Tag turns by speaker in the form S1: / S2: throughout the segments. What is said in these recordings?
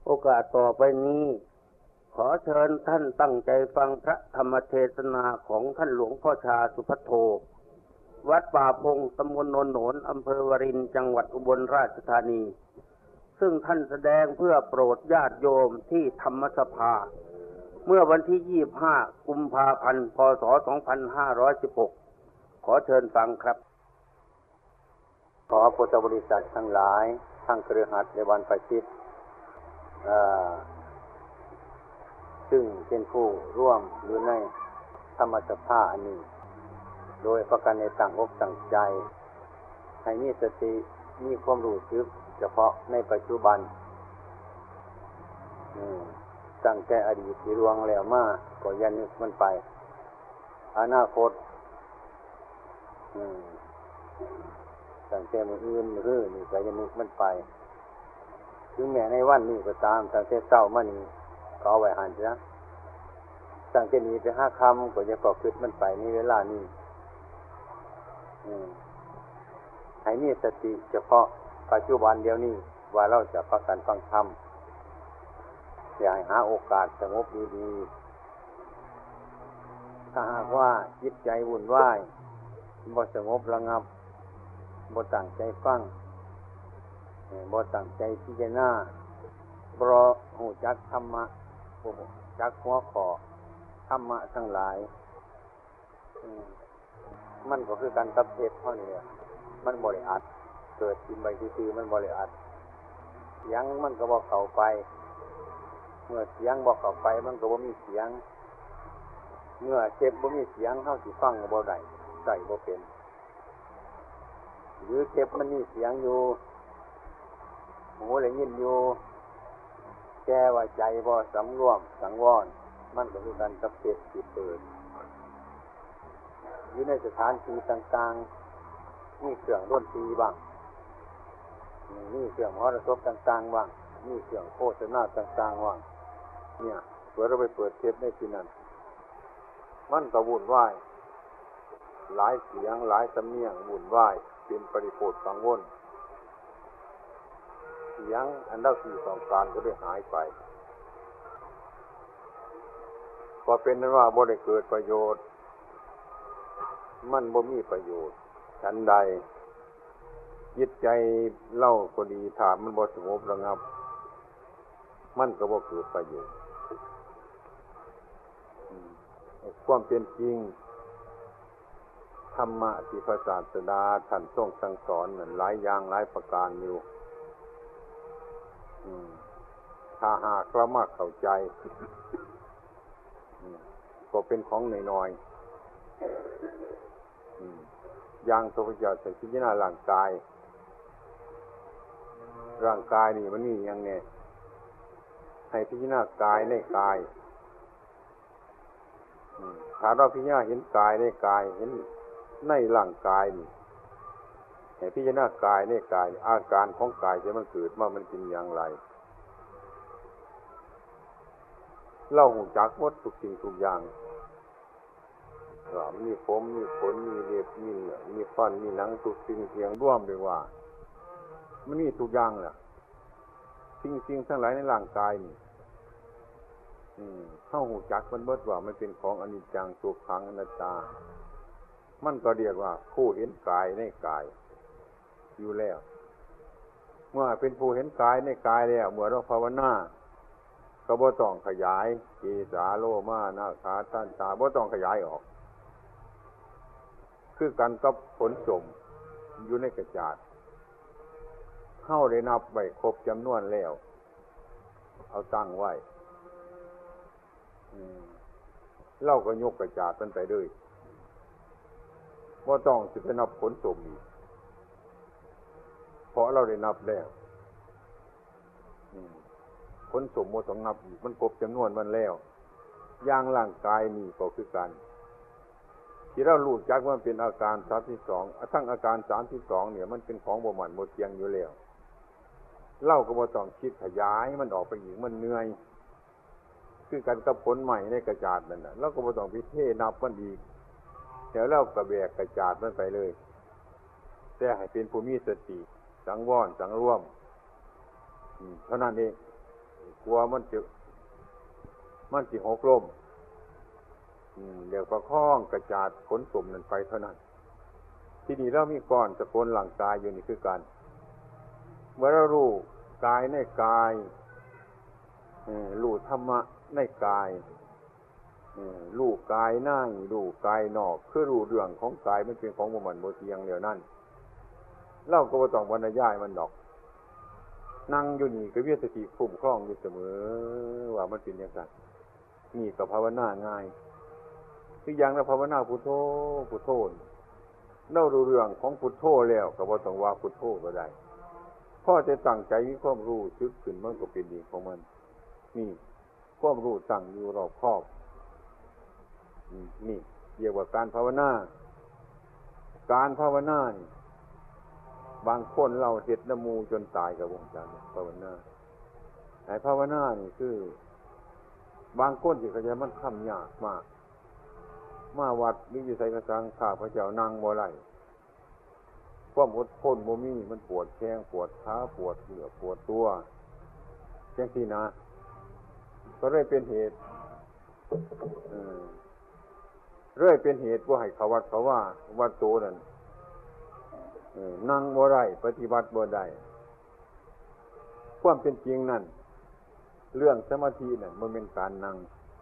S1: โอกาสต่อไปนี้ขอเชิญท่านตั้งใจฟังพระธรรมเทศนาของท่านหลวงพ่อชาสุภัทโทวัดป่าพงตำบลโนนโหนนอำเภอวารินจังหวัดอุบลราชธานีซึ่งท่านแสดงเพื่อโปรดญาติโยมที่ธรรมสภาเมื่อวันที่25กุมภาพันธ์พศ2516ขอเชิญฟังครับ
S2: ขอพุทธบริษัททั้งหลายทั้งคฤหัสถ์และบรรพชิตซึ่งเป็นผู้ร่วมอยู่ในธรรมสภาอันนี้โดยประการในต่างอกต่างใจให้มีสติมีความรู้สึกเฉพาะในปัจจุบันตั้งแต่อดีตที่ล่วงแล้วมาก็อย่านึกมันไปอนาคตตั้งแต่มื้ออื่นมื้อนี่ก็อย่านึกมันไปถึงแม้ในวันนี้ก็ตามตั้งแต่เช้ามานี้ก็เอาไว้หันซะตั้งแต่นี้ไปหาคำก็อย่าก็คิดมันไปในเวลานี้ให้มีสติเฉพาะปัจจุบันเดียวนี้ว่าเราจะประกันฟังธรรมอย่าให้หาโอกาสสงบดีๆถ้าหากว่าจิตใจวุ่นวายบ่สงบระงับบ่ตั้งใจฟังบ่ตั้งใจพิจารณาบ่รู้จักธรรมะบ่รู้จักหัวข้อธรรมะทั้งหลายมันก็คือการตับเทศเท่านี้มันบ่ได้อัดเกิดขึ้นไปซื่อๆมันบ่ได้อัดเสียงมันก็บ่เข้าไปเมื่อเสียงบ่เข้าไปมันก็บ่มีเสียงเมื่อเจ็บบ่มีเสียงเฮาสิฟังก็บ่ได้ใส่บ่เป็นหรือเจ็บมันมีเสียงอยู่หูได้ยินอยู่แก้ว่าใจบ่สำรวมสังวรมันก็คือการตับเทศจิตเปิดอยู่ในสถานที่ต่างๆมีเครื่องดนตรีบ้างมีเครื่องมรดกต่างๆบ้างมีเครื่องโฆษณาต่างๆบ้างเนี่ยเผื่อเราไปเปิดเทปในที่นั้นมันก็วุ่นวายหลายเสียงหลายสำเนียงวุ่นวายเป็นปริโภคกังวลเสียงอันเราที่ต้องการก็ได้หายไปก็เป็นนั้นว่าบ่ได้เกิดประโยชน์มันบ่มีประโยชน์ฉันใดจิตใจเล่าก็ดีถ้ามันบ่สงบระงับมันก็บ่เกิดประโยชน์ความเป็นจริงธรรมะที่พระศาสดาท่านทรงสั่งสอนนั้นหลายอย่างหลายประการอยู่ถ้าหากเรามาเข้าใจก็เป็นของน้อยๆอย่างพระพุทธเจ้าพิจารณาร่างกายนี่มันมีอย่างไงให้พิจารณากายในกายถ้าเราพิจารณาเห็นกายในกายเห็นในร่างกายนี่ให้พิจารณากายในกายอาการของกายที่มันเกิดมามันเป็นอย่างไรเราหูจักหมดทุกสิ่งทุกอย่างมีผมมีขนมีเล็บมีเนื้อมีฟันมีหนังทุกสิ่งเสียงร่วมเลยว่ามันมีทุกอย่างแหละสิ่งทั้งหลายในร่างกายนี่เข้าหูจักมันเบิดว่ามันเป็นของอนิจจังทุกขังอนัตตามันก็เรียกว่าผู้เห็นกายในกายอยู่แล้วเมื่อเป็นผู้เห็นกายในกายแล้วเมื่อเราภาวนาก็บ่ต้องขยายเกสาโลมานาขาทันตาบ่ต้องขยายออกคือกันกับผลสมอยู่ในกระจาดเข้าได้นับไว้ครบจำนวนแล้วเอาตั้งไว้เราก็ยกกระจาดมันไปเลยบ่ต้องสิไปนับผลสมอีกเพราะเราได้นับแล้วผลสมบ่ต้องนับอีกมันครบจำนวนมันแล้วอย่างร่างกายนี่ก็คือกันที่เรารู้จักว่ามันเป็นอาการ32ทั้งอาการ32เนี่ยมันเป็นของบ่มันบ่เที่ยงอยู่แล้วเราก็บ่ต้องคิดขยายมันออกไปอีกมันเหนื่อยคือกันกับผลใหม่ในกระจาดนั่นน่ะเราก็บ่ต้องไปเทนับมันอีกเดี๋ยวเราก็แบกกระจาดมันไปเลยแต่ให้เป็นผู้มีสติสังวรสังรวมเท่านั้นเองกลัวมันสิหกล้มเดี๋ยวประคองกระจาดขนสุ่มนั่นไปเท่านั้นที่นี่เรามีก้อนสกุลหลังกายอยู่นี่คือการเมื่อเรารู้กายในกายรู้ธรรมะในกายรู้กายในรู้กายนอกคือรู้เรื่องของกายมันเป็นของบ่มันบ่เที่ยงเดียวนั่นเราก็บ่ต้องบรรยายมันดอกนั่งอยู่นี่ก็มีสติคุ้มครองอยู่เสมอว่ามันเป็นอย่างไรนี่ก็ภาวนาง่ายคืออย่างเราภาวนาพุทโธพุทโธเรารู้เรื่องของพุทโธแล้วก็บ่ต้องว่าพุทโธก็ได้พอจะตั้งใจมีความรู้สึกขึ้นมันก็เป็นดีของมันนี่ความรู้ตั้งอยู่รอบคอบนี่เรียกว่าการภาวนาการภาวนานี่บางคนเราเฮ็ดน้ำมูจนตายกับวงการภาวนาไอ้ภาวนานี่คือบางคนที่เขาจะมันค่ำยากมากมาวัดหรืออยู่ไสกระสังข้าพระเจ้านั่งบ่ไหลความอดทนบ่มีมันปวดแข้งปวดขาปวดเหนือปวดตัวจังซี่นะก็เลยเป็นเหตุเป็นเหตุว่าให้เขาวัดเขาว่าวัดโตนั่นนั่งบ่ได้ปฏิบัติบ่ได้ความเป็นจริงนั่นเรื่องสมาธินั่นมันเป็นการนั่ง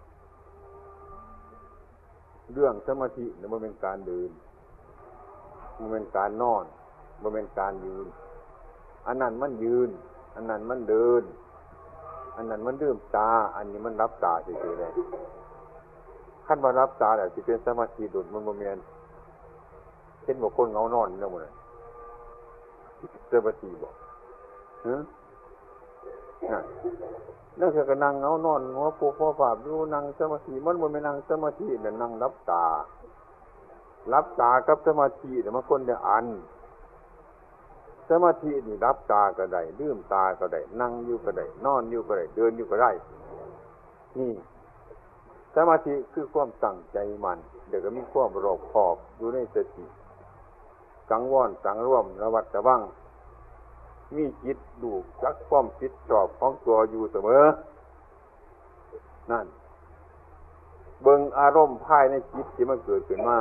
S2: เรื่องสมาธินั่นมันเป็นการเดินมันเป็นการนอนมันเป็นการยืนอันนั้นมันยืนอันนั้นมันเดินอันนั้นมันลืมตาอันนี้มันรับตาเฉยๆเลยขั้นว่ารับตาแล้วสิเป็นสมาธิดุจมันบ่แม่นเช่นว่าคนเงานอนแล้วหมดเลยสมาธิบ่นั่นคือก็นั่งเงานอนหัวปูหัวฝาบอยู่นั่งสมาธิมันบ่แม่นนั่งสมาธิน่ะนั่งรับตากับสมาธิเนี่ยมันคนเดียวอันสมาธินี่รับตาก็ได้ลืมตาก็ได้นั่งอยู่ก็ได้นอนอยู่ก็ได้เดินอยู่ก็ได้นี่สมาธิคือความตั้งใจมันเดี๋ยวก็มีความรอบคอบอยู่ในสติสังวรสังรวมระวัดระวังมีจิตดูจักความคิดชอบของตัวอยู่เสมอนั่นเบิ่งอารมณ์ภายในจิตที่มันเกิดขึ้นมา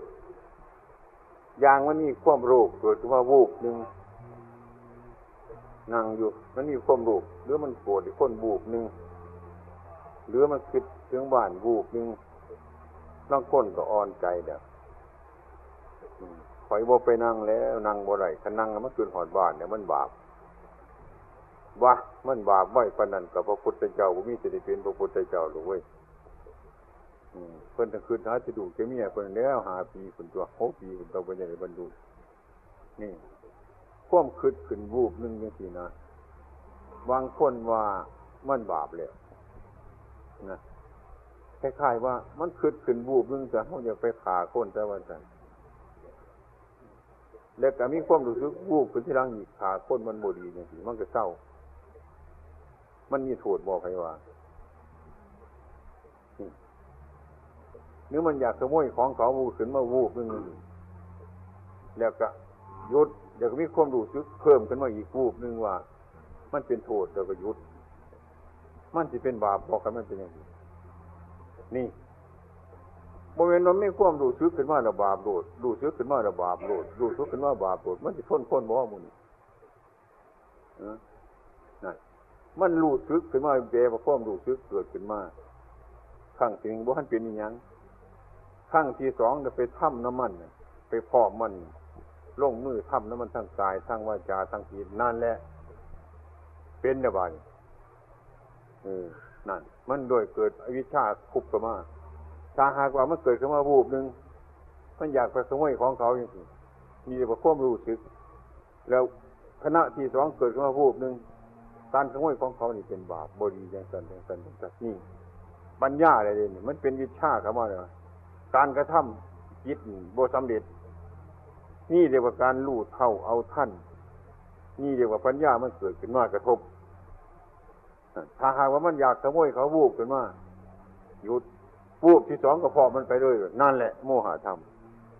S2: อย่างมันมีความรู้เกิดขึ้นมาวูบนึงนั่งอยู่มันมีความรู้หรือมันโกรธอีกคนวูบนึงหรือมันคิดถึงบ้านวูบนึงบางคนก็อ่อนใจเด้อข่อยบ่ไปนั่งแล้วนั่งบ่ได้ถ้านั่งแล้วมันขึ้นฮอดบ้านเนี่ยมันบาปวะมันบาปไว้ปานนั้นกับพระพุทธเจ้าบ่มีสิได้เป็นพระพุทธเจ้าหรอกเว้ยเพิ่นต้องขึ้นหาสิดูแก่เมียเพิ่นแล้ว5 ปีเพิ่นตัว6 ปีเพิ่นต้องบ่ได้บรรลุนี่ความคิดขึ้นวูบนึงจังซี่นะบางคนว่ามันบาปแล้วนะคล้ายๆว่ามันคิดขึ้นวูบนึงจะเฮาอยากไปฆ่าคนแต่ว่าซั่นแล้วก็มีความรู้สึกวูบขึ้นที่หลังอีกฆ่าคนมันบ่ดีจังซี่มันก็เศร้ามันมีโทษบ่ใครว่าหรือมันอยากขโมยของเขาวูบขึ้นมาวูบนึงแล้วก็หยุดเดี๋ยวก็มีความรู้สึกเพิ่มขึ้นมาอีกวูบนึงว่ามันเป็นโทษแล้วก็หยุดมันสิเป็นบาปบอกกันมันเป็นอย่างนี้นี่บ่แม่นว่ามีความรู้สึกขึ้นมาแล้วบาปโลดรู้สึกขึ้นมาแล้วบาปโลดรู้สึกขึ้นมาบาปโลดมันสิทนบ่ว่าหมู่นี้นั่นมันรู้สึกขึ้นมาแปลว่าความรู้สึกเกิดขึ้นมาครั้งที่1บ่ทันเป็นอีหยังครั้งที่2ก็ไปทำน้ำมันไปพร้อมมันลงมือทำน้ำมันทั้งกายทั้งวาจาทั้งจิตนั่นแหละเป็นน่ะบาดนี้นั่นมันโดยเกิดอวิชชาคุบเข้ามาถ้าหากว่ามันเกิดขึ้นมาวูบนึงมันอยากไปขโมยของเขาอย่างนี้มีแต่ความรู้สึกแล้วขณะที่2เกิดขึ้นมาวูบนึงการขโมยของเขานี่เป็นบาปบ่ดีจังซั่นนี่ปัญญาอะไรนี่มันเป็นวิชาเข้ามาแล้วการกระทำจิตบ่สำเร็จนี่เรียกว่าการรู้เท่าเอาทันนี่เรียกว่าปัญญามันเกิดขึ้นมากระทบถ้าหากว่ามันอยากขโมยเขาวูบขึ้นมาหยุดวูบที่2ก็พอมันไปเลยนั่นแหละโมหะธรรม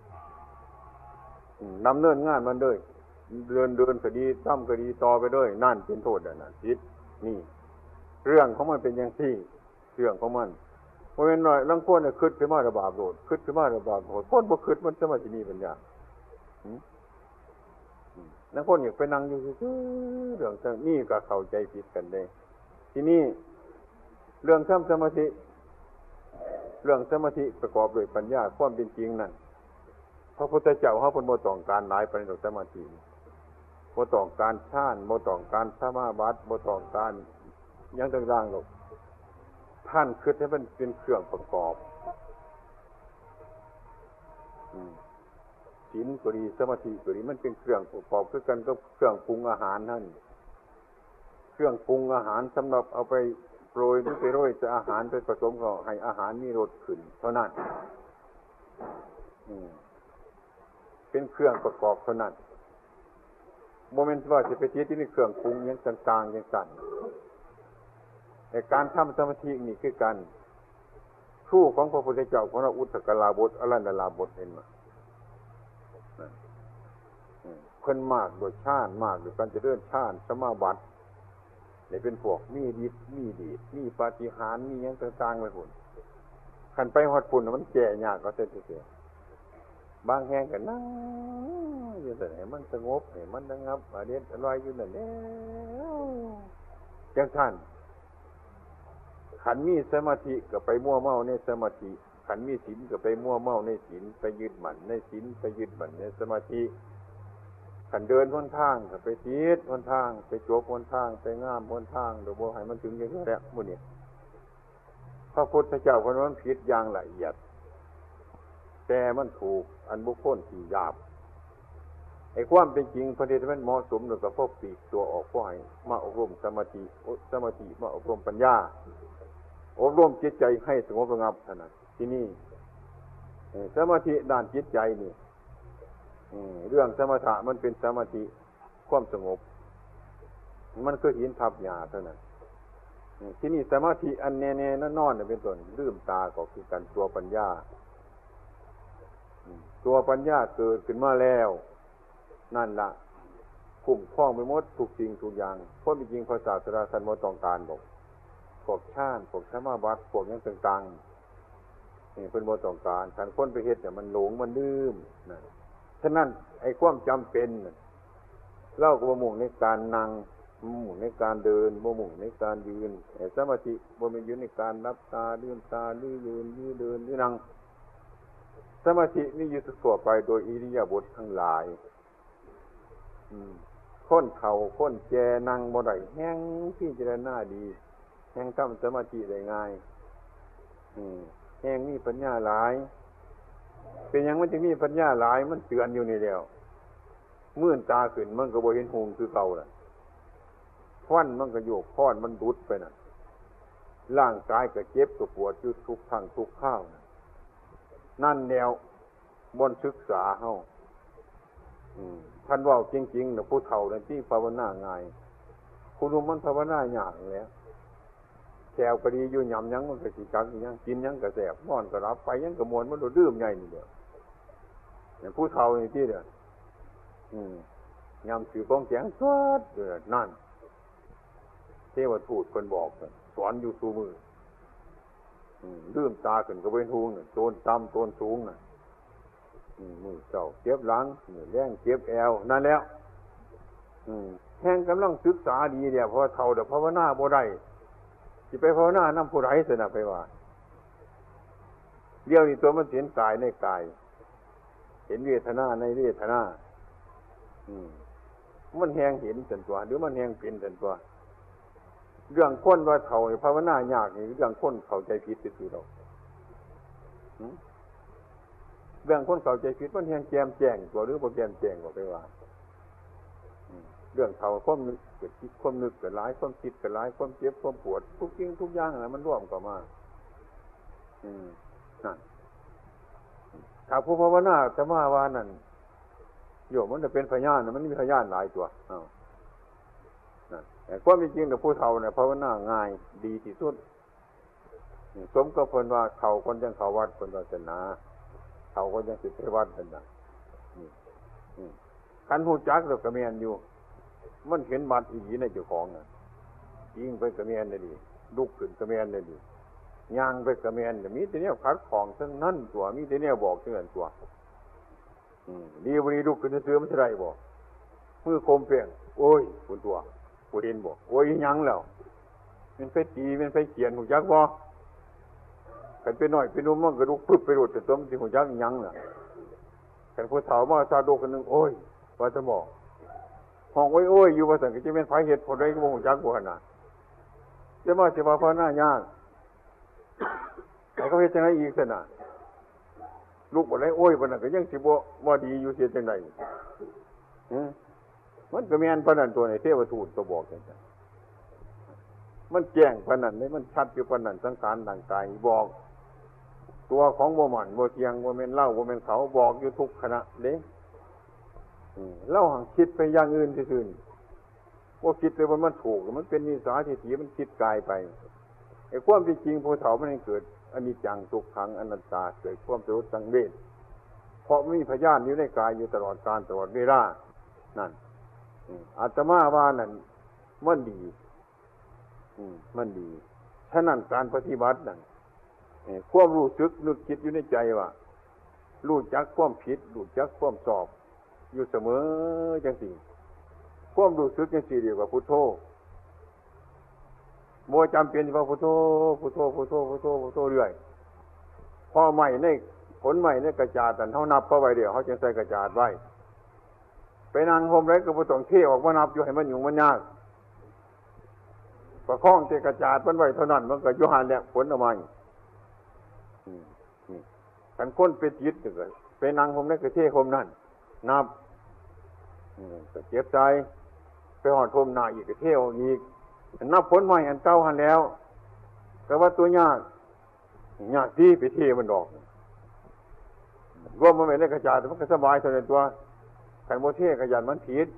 S2: ดำเนินงานมันเลยเดินคดีทำคดีต่อไปเลยนั่นเป็นโทษนั่นผิดนี่
S3: เรื่องของมันเป็นอย่างที่เรื่องของมันเพราะงั้นหน่อยลังคนเนี่ยคิดขึ้นมาระบาดโลดคิดขึ้นมาระบาดโลดคนบ่คิดมันจะมาที่นี่ปัญญานักคนอยากไปนั่งอยู่ซื่อเรื่องนี่ก็เข้าใจผิดกันได้ทีนี้เรื่องทำสมาธิประกอบด้วยปัญญาความเป็นจริงนั่นพระพุทธเจ้าเขาเป็นบ่ต้องการหลายปานนั้นสมาธิบ่ต้องการฌานบ่ต้องการสมาบัติบ่ต้องการหยังต่างๆหรอกท่านคิดให้มันเป็นเครื่องประกอบศีลก็ดีสมาธิก็ดีมันเป็นเครื่องประกอบคือกันก็เครื่องปรุงอาหารนั่นเครื่องปรุงอาหารสำหรับเอาไปโปรยหรือไปโรยจะอาหารไปผสมก็ให้อาหารมีรสขึ้นเท่านั้นเป็นเครื่องประกอบเท่านั้นโมเมนต์ว่าจะไปที่นี่เครื่องปรุงอย่างต่างๆอย่างสั่นแต่การทำสมาธินี่คือกันครูของพระพุทธเจ้าของเราอุตตกลาบทอรันดลาบทเห็นมั้ยเพิ่นมากโดยฌานมากโดยการเจริญฌานสมาบัตินี่เป็นพวกมีฤทธิ์มีเดชมีปาฏิหาริย์มีหยังต่างๆไปพุ่นคันไปฮอดพุ่นมันแก่ยากก็เสียบางแห่งก็นั่งอยู่แต่ให้มันสงบให้มันระงับอเด็ดอร่อยอยู่นั่นแหละจังซั่นขันมีสมาธิก็ไปมั่วเมาในสมาธิขันมีศีลก็ไปมั่วเมาในศีลไปยึดมั่นในศีลไปยึดมั่นในสมาธิขันเดินหนทางก็ไปติดหนทางไปจบหนทางไปง่ามหนทางโดยบ่ให้มันถึงอย่างนี้แหละมื้อนี้พระพุทธเจ้าคนนั้นผิดอย่างละเอียดแต่มันถูกอันบุคคลที่หยาบไอ้ความเป็นจริงพระเดชมันเหมาะสมแล้วก็พบปีกตัวออกพ่อให้มาอบรมสมาธิมาอบรมปัญญาอบรมจิตใจให้สงบระงับเท่านั้นที่นี่สมาธิด้านจิตใจนี่เรื่องสมถะมันเป็นสมาธิความสงบมันคือหินทับหญ้าเท่านั้นที่นี่สมาธิอันแน่ๆนอนๆเป็นต้นลืมตาก็คือการตัวปัญญาตัวปัญญาเกิดขึ้นมาแล้วนั่นล่ะคุ้มครองไปหมดทุกสิ่งทุกอย่างเพราะจริงๆพระศาสดาท่านบ่ต้องการบอกพวกฌานพวกสมาบัติพวกหยังต่างๆนี่เพิ่นบ่ต้องการท่านคนไปเฮ็ดเนี่ยมันหลงมันลืมนั่นฉะนั้นไอ้ความจำเป็นเราก็บ่มุ่งในการนั่งมุ่งในการเดินบ่มุ่งในการยืนสมาธิบ่แม่นอยู่ในการรับตาลืมตาหรือยืนหรือเดินหรือนั่งสมาธินี่อยู่ทั่วไปโดยอิริยาบถทั้งหลายคนเฒ่าคนแก่นั่งบ่ได้แฮงพิจารณาดีแฮงทำสมาธิได้ง่ายแฮงมีปัญญาหลายเป็นหยังมันจึงมีปัญญาหลายมันเตือนอยู่นี่แล้วมื่นตาขึ้นมันก็บ่เห็นหงคือเก่าล่ะฟันมันก็โยกค้อนมันดุดไปน่ะร่างกายก็เจ็บก็ปวดอยู่ทุกครั้งทุกคราวนั่นแนวบนศึกษาเฮาท่านว่าจริงๆน่ะผู้เฒ่านั่นที่ภาวนาง่ายผู้หนุ่มมันภาวนายากแล้วแถวก็ดีอยู่หย่ำยังมันก็สิจักอีหยังกินหยังก็แซ่บนอนก็หลับไปหยังก็ม่วนมันลืมใหญ่นี่เด้อเนี่ยผู้เฒ่านี่ที่เด้อยำถือของแข็งสดเด้อนั่นเทวทูตเพิ่นบอกสอนอยู่สู่มือลืมตาขึ้นก็เป็นหูน่ะโตนต่ำโตนสูงน่ะมือเจ้าเจ็บหลังมือแรงเจ็บแอวนั่นแล้วแห่งกำลังศึกษาดีเนี่ยพอเฒ่าเดี๋ยวภาวนาบ่ได้สิไปภาวนานำผู้ใดสินะไปว่าเดี๋ยวนี้ตัวมันเห็นกายในกายเห็นเวทนาในเวทนามันแหงเห็นจนตัวหรือมันแหงเป็นจนตัวเรื่องคนว่าเฒ่าภาวนายากนี่เรื่องคนเข้าใจผิดซื่อๆดอกเรื่องคนเข้าใจผิดมันแหงแจ่มแจ้งตัวหรือบ่แจ่มแจ้งก็ไปว่าเรื่องเฒ่าความนึกเกิดคิดความนึกเกิดหลายความคิดเกิดหลายความเจ็บความปวดทุกสิ่งทุกอย่างมันร่วมเข้ามานั่นถ้าผู้ภาวนาจะมาว่านั่นโยมมันจะเป็นพยานมันมีพยานหลายตัวนั่นแต่ความจริงๆผู้เฒ่าเนี่ยภาวนาง่ายดีที่สุดสมกับเพิ่นว่าเฒ่าคนจังเข้าวัดเพิ่นศาสนาเฒ่าคนจังสิไปวัดนั่นน่ะคันฮู้จักแล้วก็แม่นอยู่มันเห็นบัตรอีหลีในเจ้าของน่ะยิงไปก็แม่นได้ดีลุกขึ้นกระแมนเลยดิย่างไปกระแมนมีแต่เนี่ยขัดของทั้งนั้นตัวมีแต่เนี่ยบอกทั้งนั้นตัวดีวันนี้ลุกขึ้นซื้อมันจะได้บอกมือโคมเปลี่ยนโอ้ยคุณตัวกูเห็นบอกโอ้ยยังแล้วมันไปตีมันไปเขียนหูยักษ์บ่กันไปหน่อยไปนุ่มมันกระดูกปึ๊บไปโดดแต่ตัวมันสิหูยักษ์ยังล่ะกันผู้สาวมาซาโดกันนึงโอ้ยว่าจะบอกห้องโอ้ยอยู่ว่าสั่งก็จะเป็นไฟเหตุผลอะไรก็บ่หูยักษ์บ่ขนาดจะมาสิว่าพระหน้ายากแต่เขาเฮ็ดจังได๋อีกซั่นน่ะลูกบ่ได้โอ้ยบ่นั่นก็ยังสิบ่ดีอยู่เสียจังได๋มันก็แม่นปานนั้นตัวนี้เทวทูตก็บอกจังซั่นมันแจ้งปานนั้นเลยมันชัดอยู่ปานนั้นสังขารร่างกายบอกตัวของบ่มันบ่เที่ยงบ่แม่นเราบ่แม่นเขาบอกอยู่ทุกขณะเด้เราหังคิดไปอย่างอื่นซื่อๆบ่คิดเลยว่ามันถูกมันเป็นนิสัยทิฏฐิมันคิดกายไปไอ้ความจริงผู้เฒ่ามันเกิดอนิจจังทุกขังอนัตตาเกิดความสลดสังเวชเพราะมีพยานอยู่ในกายอยู่ตลอดกาลตลอดเวลานั่นอาตมาว่านั่นมันดีมันดีฉะนั้นการปฏิบัตินั่นความรู้สึกนึกคิดอยู่ในใจว่ารู้จักความผิดรู้จักความชอบอยู่เสมอจังซี่ความรู้สึกจังซี่เรียกว่าพุทโธบ่จำเป็นว่าพุทโธพุทโธพุทโธพุทโธพุทโธเรื่อยพอใหม่ในผลใหม่ในกระจาดเฮานับเข้าไว้เดี๋ยวเฮาจึงใส่กระจาดไว้ไปนั่งห่มไว้ก็บ่ต้องเทออกมานับอยู่ให้มันยุ่งมันยากประคองแต่กระจาดมันไว้เท่านั้นมันก็อยู่หันแหละผลออกมานี่คันคนไปจิตก็ไปนั่งห่มในกระเทห่มนั่นนับก็เจ็บใจไปหอดห่มหน้าอีกกระเทออกอีกนับผลใหม่อันเก่าหันแล้วแต่ว่าตัวยากที่ไปเทมันดอกรวมมันไม่ได้กระจายแต่มันก็สบายเท่านั้นตัวขันโมเทขยันมันผิด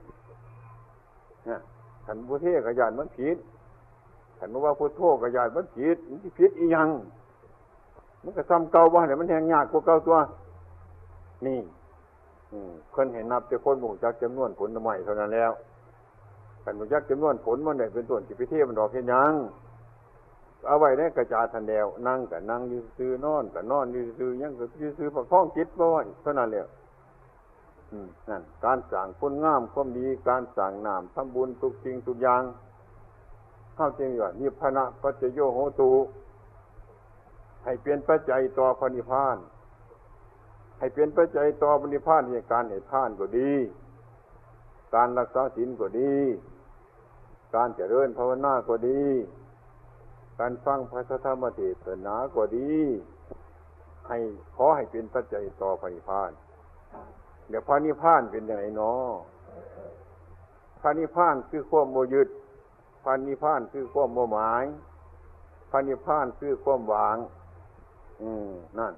S3: ขันโมเทขยันมันผิดขันว่าพุทโธขยันมันผิดมันผิดอีหยังมันก็ซ้ำเก่าบ้านเนี่ยมันแหงยากกว่าเก่าตัวนี่คนเห็นนับแต่คนหมู่จักจำนวนผลใหม่เท่านั้นแล้วขันหมู่จักจำนวนผลมันได้เป็นต้นที่ไปเทมันดอกเห็นยังเอาไว้ในกระจาดทันเดียวนั่งกับนั่งยืนซื้อนอนกับนอนยืนซื้อยังกับยืนซื้อประคองจิตบ่ไว้เท่านั้นแหละนั่นการสั่งคุณงามความดีการสั่งนามทำบุญทุกสิ่งทุกอย่างเข้าจริงว่านิพพานะปัจจโยโหตุให้เป็นปัจจัยต่อพระนิพพานให้เป็นปัจจัยต่อพระนิพพานในการให้ทานก็ดีการรักษาศีลก็ดีการเจริญภาวนาก็ดีการฟังพระธรรมเทศนาก็ดีให้ขอให้เป็นปัจจัยต่อพระนิพพานเดี๋ยวพระนิพพานเป็นยังไงเนาะพระนิพพานคือความโมยึดพระนิพพานคือความโมหมายพระนิพพานคือความวางนั่น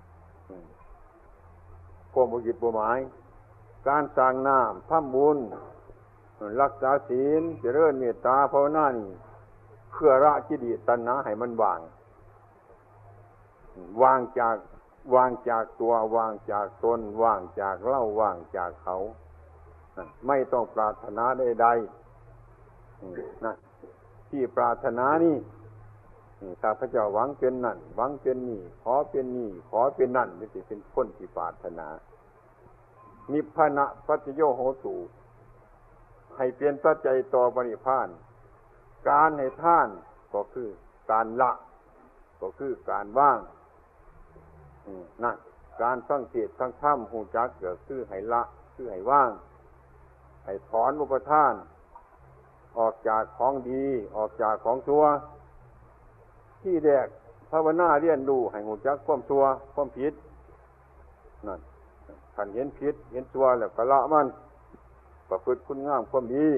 S3: ความโมยึดโมหมายการสร้างน้ำทำบุญรักษาศีลเจริญเมตตาภาวนานี่เพื่อละกิเลสตัณหาให้มันวางจากตัววางจากตนวางจากเราวางจากเขาไม่ต้องปรารถนาใดๆนะที่ปรารถนานี่ข้าพเจ้าหวังเป็นนั่นหวังเป็นนี่ขอเป็นนี่ขอเป็นนั่นนี่สิเป็นคนที่ปรารถนานิพพานะปัจจโยโหตุให้เป็นปัจจัยต่อพระนิพพานการให้ทานก็คือการละก็คือการว่างนั่นการฟังเทศน์ฟังธรรมหูจักก็คือให้ละคือให้ว่างให้ถอนอุปทานออกจากของดีออกจากของชั่วที่แรกภาวนาเรียนรู้ให้หูจักความชั่วความผิดนั่นท่านเห็นผิดเห็นชั่วแล้วก็ละมันประพฤติคุณงามความดี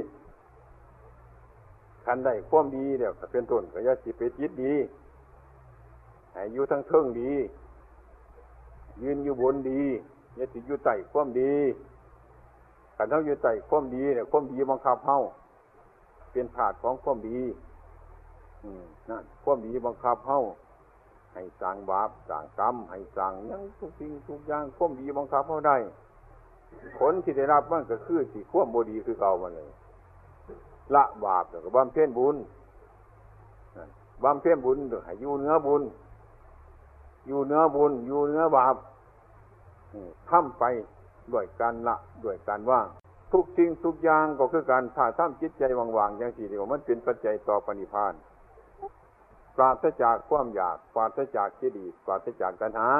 S3: คันได้ความดีเดี๋ยวก็เป็นต้นก็อย่าสิไปจิตดีให้อยู่ทั้งเทิงดียืนอยู่บนดีอย่าสิอยู่ใต้ความดีคันเฮาอยู่ใต้ความดีเนี่ยความดีบังคับเฮาเป็นธาตุของความดีนั่นความดีบังคับเฮาให้สร้างบาปสร้างกรรมให้สร้างหยังทุกสิ่งทุกอย่างความดีบังคับเฮาได้ผลที่ได้รับมันก็คือสิความบ่ดีคือเก่ามันเลยละบาปแล้วก็บำเพ็ญบุญบำเพ็ญบุญให้อยู่เหนือบุญอยู่เหนือบุญอยู่เหนือบาปทำไปด้วยการละด้วยการว่างทุกสิ่งทุกอย่างก็คือการถ้าทำจิตใจว่างๆอย่างที่เดียวมันเป็นปัจจัยต่อปณิพพานปราศจากความอยากปราศจากกิเลสปราศจากตัณหา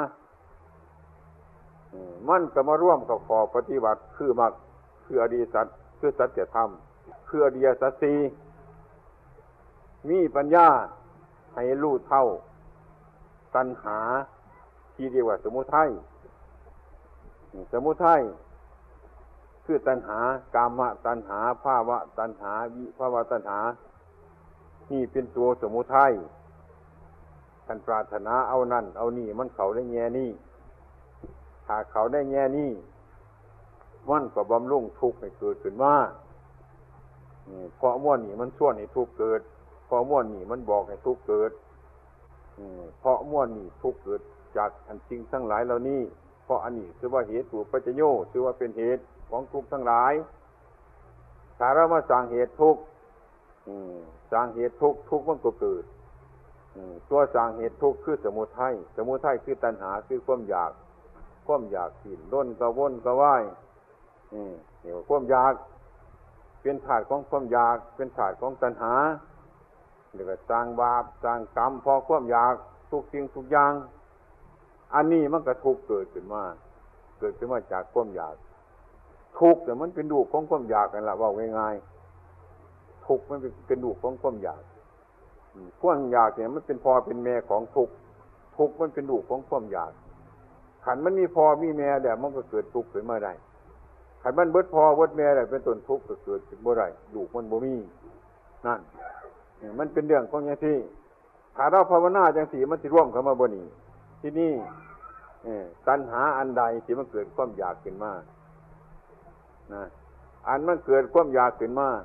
S3: มันก็มาร่วมกับขอปฏิบัติคือมรรคคืออริยสัจคือสัจธรรมคืออริยสัจสี่มีปัญญาให้รู้เท่าตัณหาที่เรียกว่าสมุทัยสมุทัยคือตัณหากามตัณหาภาวะตัณหาวิภาวะตัณหานี่เป็นตัวสมุทัยท่านปรารถนาเอานั่นเอานี่มันเขาได้แง่นี่ถ้าเขาได้แง่นี่มันก็บำรุงทุกข์ให้เกิดขึ้นมาเพราะม่วนนี่มันส่วนให้ทุกข์เกิดเพราะม่วนนี่มันบอกให้ทุกข์เกิดเพราะม่วนนี่ทุกข์เกิดจากอันจริงทั้งหลายเหล่านี้เพราะอันนี้คือว่าเหตุถูกปัจจโยคือว่าเป็นเหตุของทุกข์ทั้งหลายถ้าเรามาสร้างเหตุทุกข์สร้างเหตุทุกข์ทุกข์มันก็เกิดตัวสร้างเหตุทุกข์คือสมุทัยสมุทัยคือตัณหาคือความอยากสิ้นล้นกระวนกระวายนี่ว่าความอยากเป็นธาตุของความอยากเป็นธาตุของตัณหาเรียกว่าสร้างบาปสร้างกรรมพอความอยากทุกสิ่งทุกอย่างอันนี้มันก็ทุกข์เกิดขึ้นมาจากความอยากทุกข์แต่มันเป็นลูกของความอยากนั่นแหละว่าง่ายๆทุกข์มันเป็นลูกของความอยากความอยากเนี่ยมันเป็นพ่อเป็นแม่ของทุกข์มันเป็นลูกของความอยากขันมันมีพ่อมีแม่แล้วมันก็เกิดทุกข์ขึ้นมาได้ขันมันเบิดพ่อเบิดแม่แล้วเป็นต้นทุกข์ก็เกิดขึ้นบ่ได้ลูกมันบ่มีนั่นมันเป็นเรื่องของอย่างที่ถ้าเราภาวนาจังสีมันสิร่วมเข้ามาบ่นี้ที่นี่ตัณหาอันใดที่มันเกิดความอยากขึ้นมานะอันมันเกิดความอยากขึ้นมา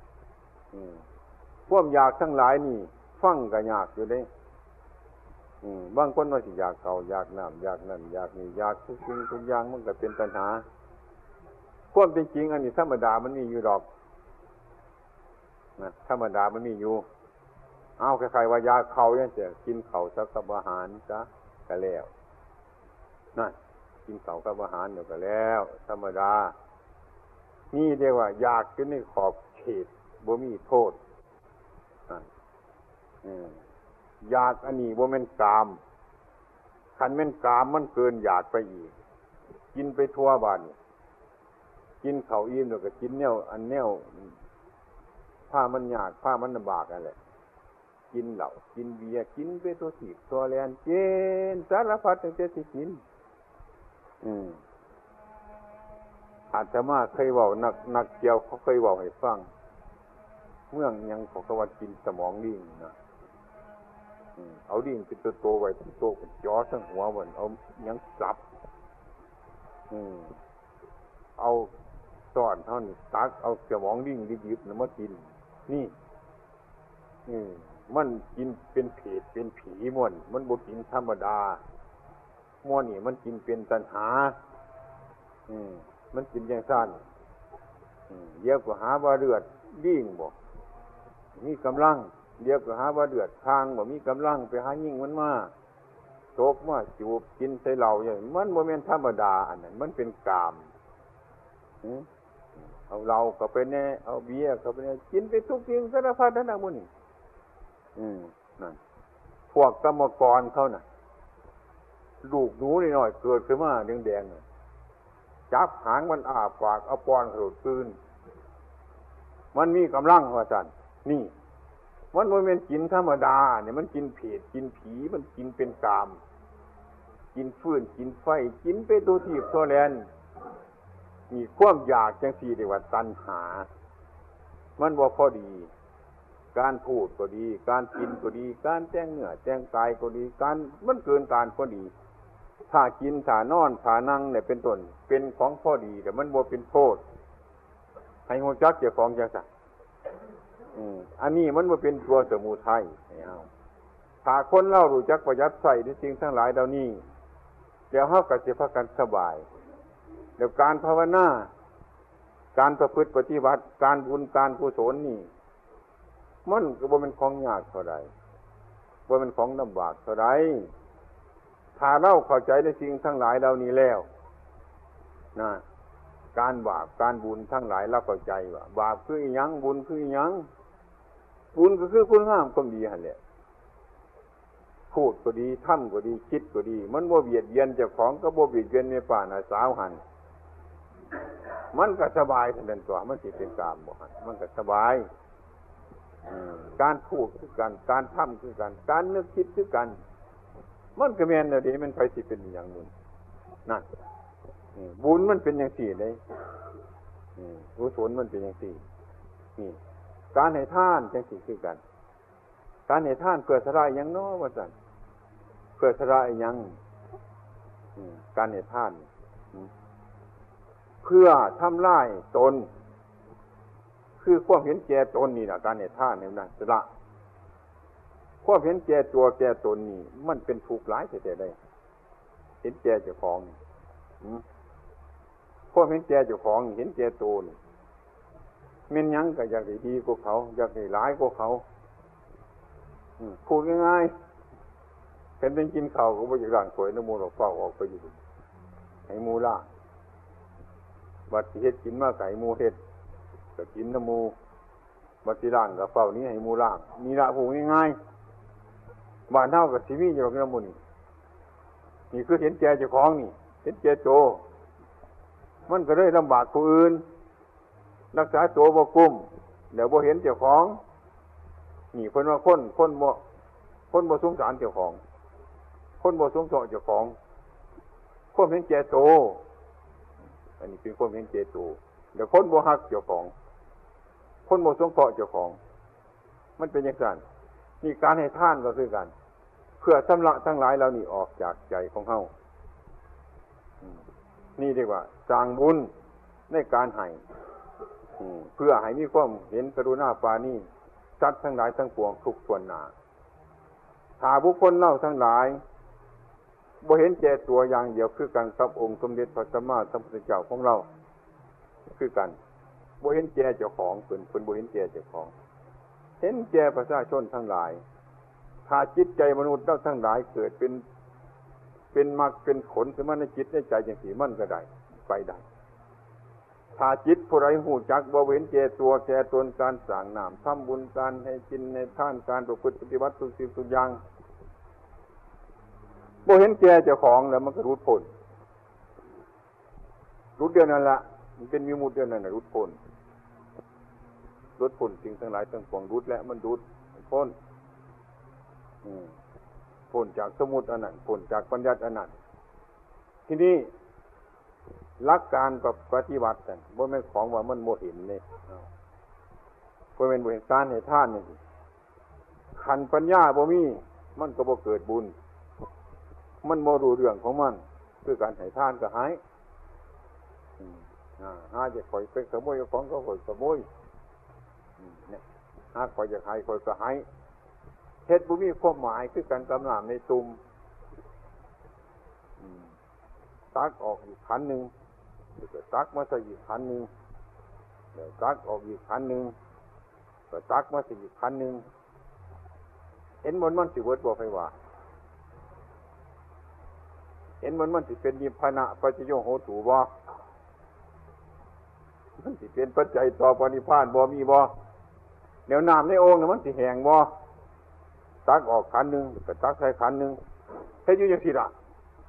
S3: ความอยากทั้งหลายนี่ฟังก็ยากอยู่เด้บางคนว่าสิอยากเขาอยากน้ำอยากนั่นอยากนี่อยากทุกสิ่งทุกอย่างมันก็เป็นตัณหาความเป็นจริงอันนี้ธรรมดามันมีอยู่ดอกนะธรรมดามันมีอยู่เอาใครๆว่าอยากเขาเนี่ยจะกินเขาสักกับอาหารจ้ะก็แล้วนั่นกินเขากับอาหารเดี๋ยวก็แล้วธรรมดานี่เรียกว่าอยากจนในขอบเขตบ่มีโทษอยากอันนี้บ่แม่นกามคันแม่นกามมันเกินอยากไปอีกกินไปทั่วบ้านกินข้าวอิ่มแล้วก็กินแนวอันแนวผ้ามันยากผ้ามันลำบากนั่นแหละกินเหล้ากินเบียร์กินไปตัวถีบตัวแลนเจนสารพัดตั้งแต่ที่กินอาตมาเคยเว้านักเกี่ยวเขาเคยเว้าให้ฟังเมืองยังเขาก็ว่ากินสมองลิงนะเอาลิงเป็นตัวโตไว้ตัวโตเป็นจ่อทั้งหัวมันเอายังสับเอาซ่อนเท่านี้ตักเอาสมองลิงดิบๆมากินนี่มันกินเป็นเพศเป็นผีมันบ่กินธรรมดาม่วนนี่มันกินเป็นตัณหามันกินอย่างสั้นเดี๋ยวก็หาว่าเลือดลิ่งบ่มีกำลังเดี๋ยวก็หาว่าเลือดทางบ่มีกำลังไปหายิ่งมันมาโตกมาจูบกินใส่เหล้าอย่างมันบ่แม่นธรรมดาอันนั้นมันเป็นกามเอาเหล้าก็ไปแน่เอาเบียร์ก็ไปแน่กินไปทุกสิ่งสารพัดนั่นน่ะมื้อนี้นั่นพวกกรรมกรเขาน่ะลูกหนูนิดหน่อยเกิดขึ้นมาแดงๆจับหางมันอ้าปากเอาป้อนกระโดดคืนมันมีกำลังว่าซั่นนี่มันบ่แม่นกินธรรมดาเนี่ยมันกินเผ็ดกินผีมันกินเป็นกามกินฟืนกินไฟกินไปตัวถีบตัวแลนมีความอยากจังซี่เรียกว่าตัณหามันบ่พอดีการพูดก็ดีการกินก็ดีการแต่งเนื้อแต่งกายก็ดีการมันเกินการพอดีถ้ากินถ้านอนถ้านั่งเนี่ยเป็นต้นเป็นของพอดีแต่มันบ่เป็นโทษให้ฮู้จักเจ้าของจังซั่นอันนี้มันบ่เป็นตัวสมุทัยเอาถ้าคนเรารู้จักประหยัดใช้ในสิ่งทั้งหลายเหล่านี้เดี๋ยวเฮาก็สิพากันสบายเดี๋ยวการภาวนาการประพฤติปฏิบัติการบุญการกุศลนี่มันก็บ่เป็นของยากเท่าใดว่ามันของลำบากเท่าไรถ้าเราเข้าใจในสิ่งทั้งหลายเหล่านี้แล้วนะการบาปการบุญทั้งหลายเราเข้าใจว่าบาปคืออิหยังบุญคืออิหยังบุญก็คือคุณงามความดีหั่นแหละพูดก็ดีทำก็ดีคิดก็ดีมันบ่เบียดเบียนเจ้าของก็บ่เบียดเบียนแม่ป้าน้าสาวหั่นมันก็สบายทันทีตัวมันสิเป็นกามบ่หั่นมันก็สบายการพูดคือกันการทำคือกันการนึกคิดคือกันมันก็แม่นแล้วดิมันไปสิเป็นอย่างนึงนั่นบุญมันเป็นอย่างสี่เลยกุศลมันเป็นอย่างสี่นี่การให้ทานจังสี่คือกันการให้ทานเพื่อสละอิหยังเนาะว่าซั่นเพื่อสละอิหยังการให้ทานเพื่อทำลายตนคือความเห็นแก่ตนนี่ล่ะการให้ทานนี่นะสละความเห็นแก่ตัวแก่ตนนี่มันเป็นทุกข์หลายแท้ๆได้เห็นแก่เจ้าของความเห็นแก่เจ้าของเห็นแก่ตนแม่นหยังก็อยากได้ดีกว่าเขาอยากได้หลายกว่าเขาพูดง่ายๆเป็นกินข้าวก็บ่อยากล้างถ้วยน้ำมูกเฝ้าออกไปอยู่ให้หมู่ล่างบัดสิเฮ็ดกินมาไก่หมู่เฮ็ดก็กินน้ำมูบัดสิล้างก็เฝ้านี้ให้หมู่ล่างนี่ล่ะพูดง่ายๆบ้านเฮาก็สิมีอยู่น้ำมูนี่คือเห็นแก่เจ้าของนี่เห็นแก่โตมันก็เลยลำบากผู้อื่นรักษาตัวบ่กุ้มเดี๋ยวบ่เห็นเจ้าของนี่เพิ่นว่าคนบ่สงสารเจ้าของคนบ่สงสารเจ้าของความเห็นแก่โตอันนี้เป็นความเห็นแก่โตเดี๋ยวคนบ่ฮักเจ้าของคนบ่สงเคราะห์เจ้าของมันเป็นอย่างนั้นนี่การให้ทานก็คือกันเพื่อชำระทั้งหลายเหล่านี้ออกจากใจของเฮานี่เรียกว่าสร้างบุญในการให้เพื่อให้มีความเห็นกรุณาปราณีสัตว์ทั้งหลายทั้งปวงทุกส่วนหน้าถ้าบุคคลเล่าทั้งหลายบ่เห็นแก่ตัวอย่างเดียวคือกันกับองค์สมเด็จพระสัมมาสัมพุทธเจ้าของเราคือกันบ่เห็นแก่เจ้าของเพิ่นบ่เห็นแก่เจ้าของเห็นแก่ประชาชนทั้งหลายถ้าจิตใจมนุษย์ทั้งหลายเกิดเป็นมรรคเป็นผลขึ้นมาในจิตในใจจังซี่มันก็ได้ไปได้ถ้าจิตผู้ใดฮู้จักบ่เห็นแก่ตัวแก่ตนการสร้างน้ำทำบุญการให้กินในทานการประพฤติปฏิบัติทุกสิ่งทุกอย่างบ่เห็นแก่เจ้าของแล้วมันก็รุดพ้นรุดเดียวนั่นล่ะมันเป็นวิมุตติเดียวนั่นน่ะรุดพ้นสิ่งทั้งหลายทั้งปวงรุดและมันรุดพ้นพ้นจากสมุติอันนั้นพ้นจากปัญญาอันนั้นทีนี้หลักการปฏิบัตินั่นบ่แม่นของว่ามันบ่เห็นนี่บ่แม่นบ่เห็นการให้ทานนี่ขันปัญญาบ่มีมันก็บ่เกิดบุญมันบ่รู้เรื่องของมันคือการให้ทานก็หายหาจะคอยไปขโมยของก็คอยขโมยเนี่ยหาคอยจะให้คอยก็ให้เฮ็ดบ่มีความหมายคือการกำน้ำในตุ่มตักออกอีกขันนึงเดี๋ยวตักมาใส่อีกขันนึงเดี๋ยวตักออกอีกขันนึงก็ตักมาใส่อีกขันนึงเห็นมันสิเวิดบ่ไผว่าเห็นมันสิเป็นนิพพานะปัจจโยโหตุบ่มันสิเป็นปัจจัยต่อปณิพพานบ่มีบ่แนวน้ำในโอ่งน่ะมันสิแห้งบ่ตักออกขันนึงก็ตักใส่ขันนึงเฮ็ดอยู่จังซี่ล่ะ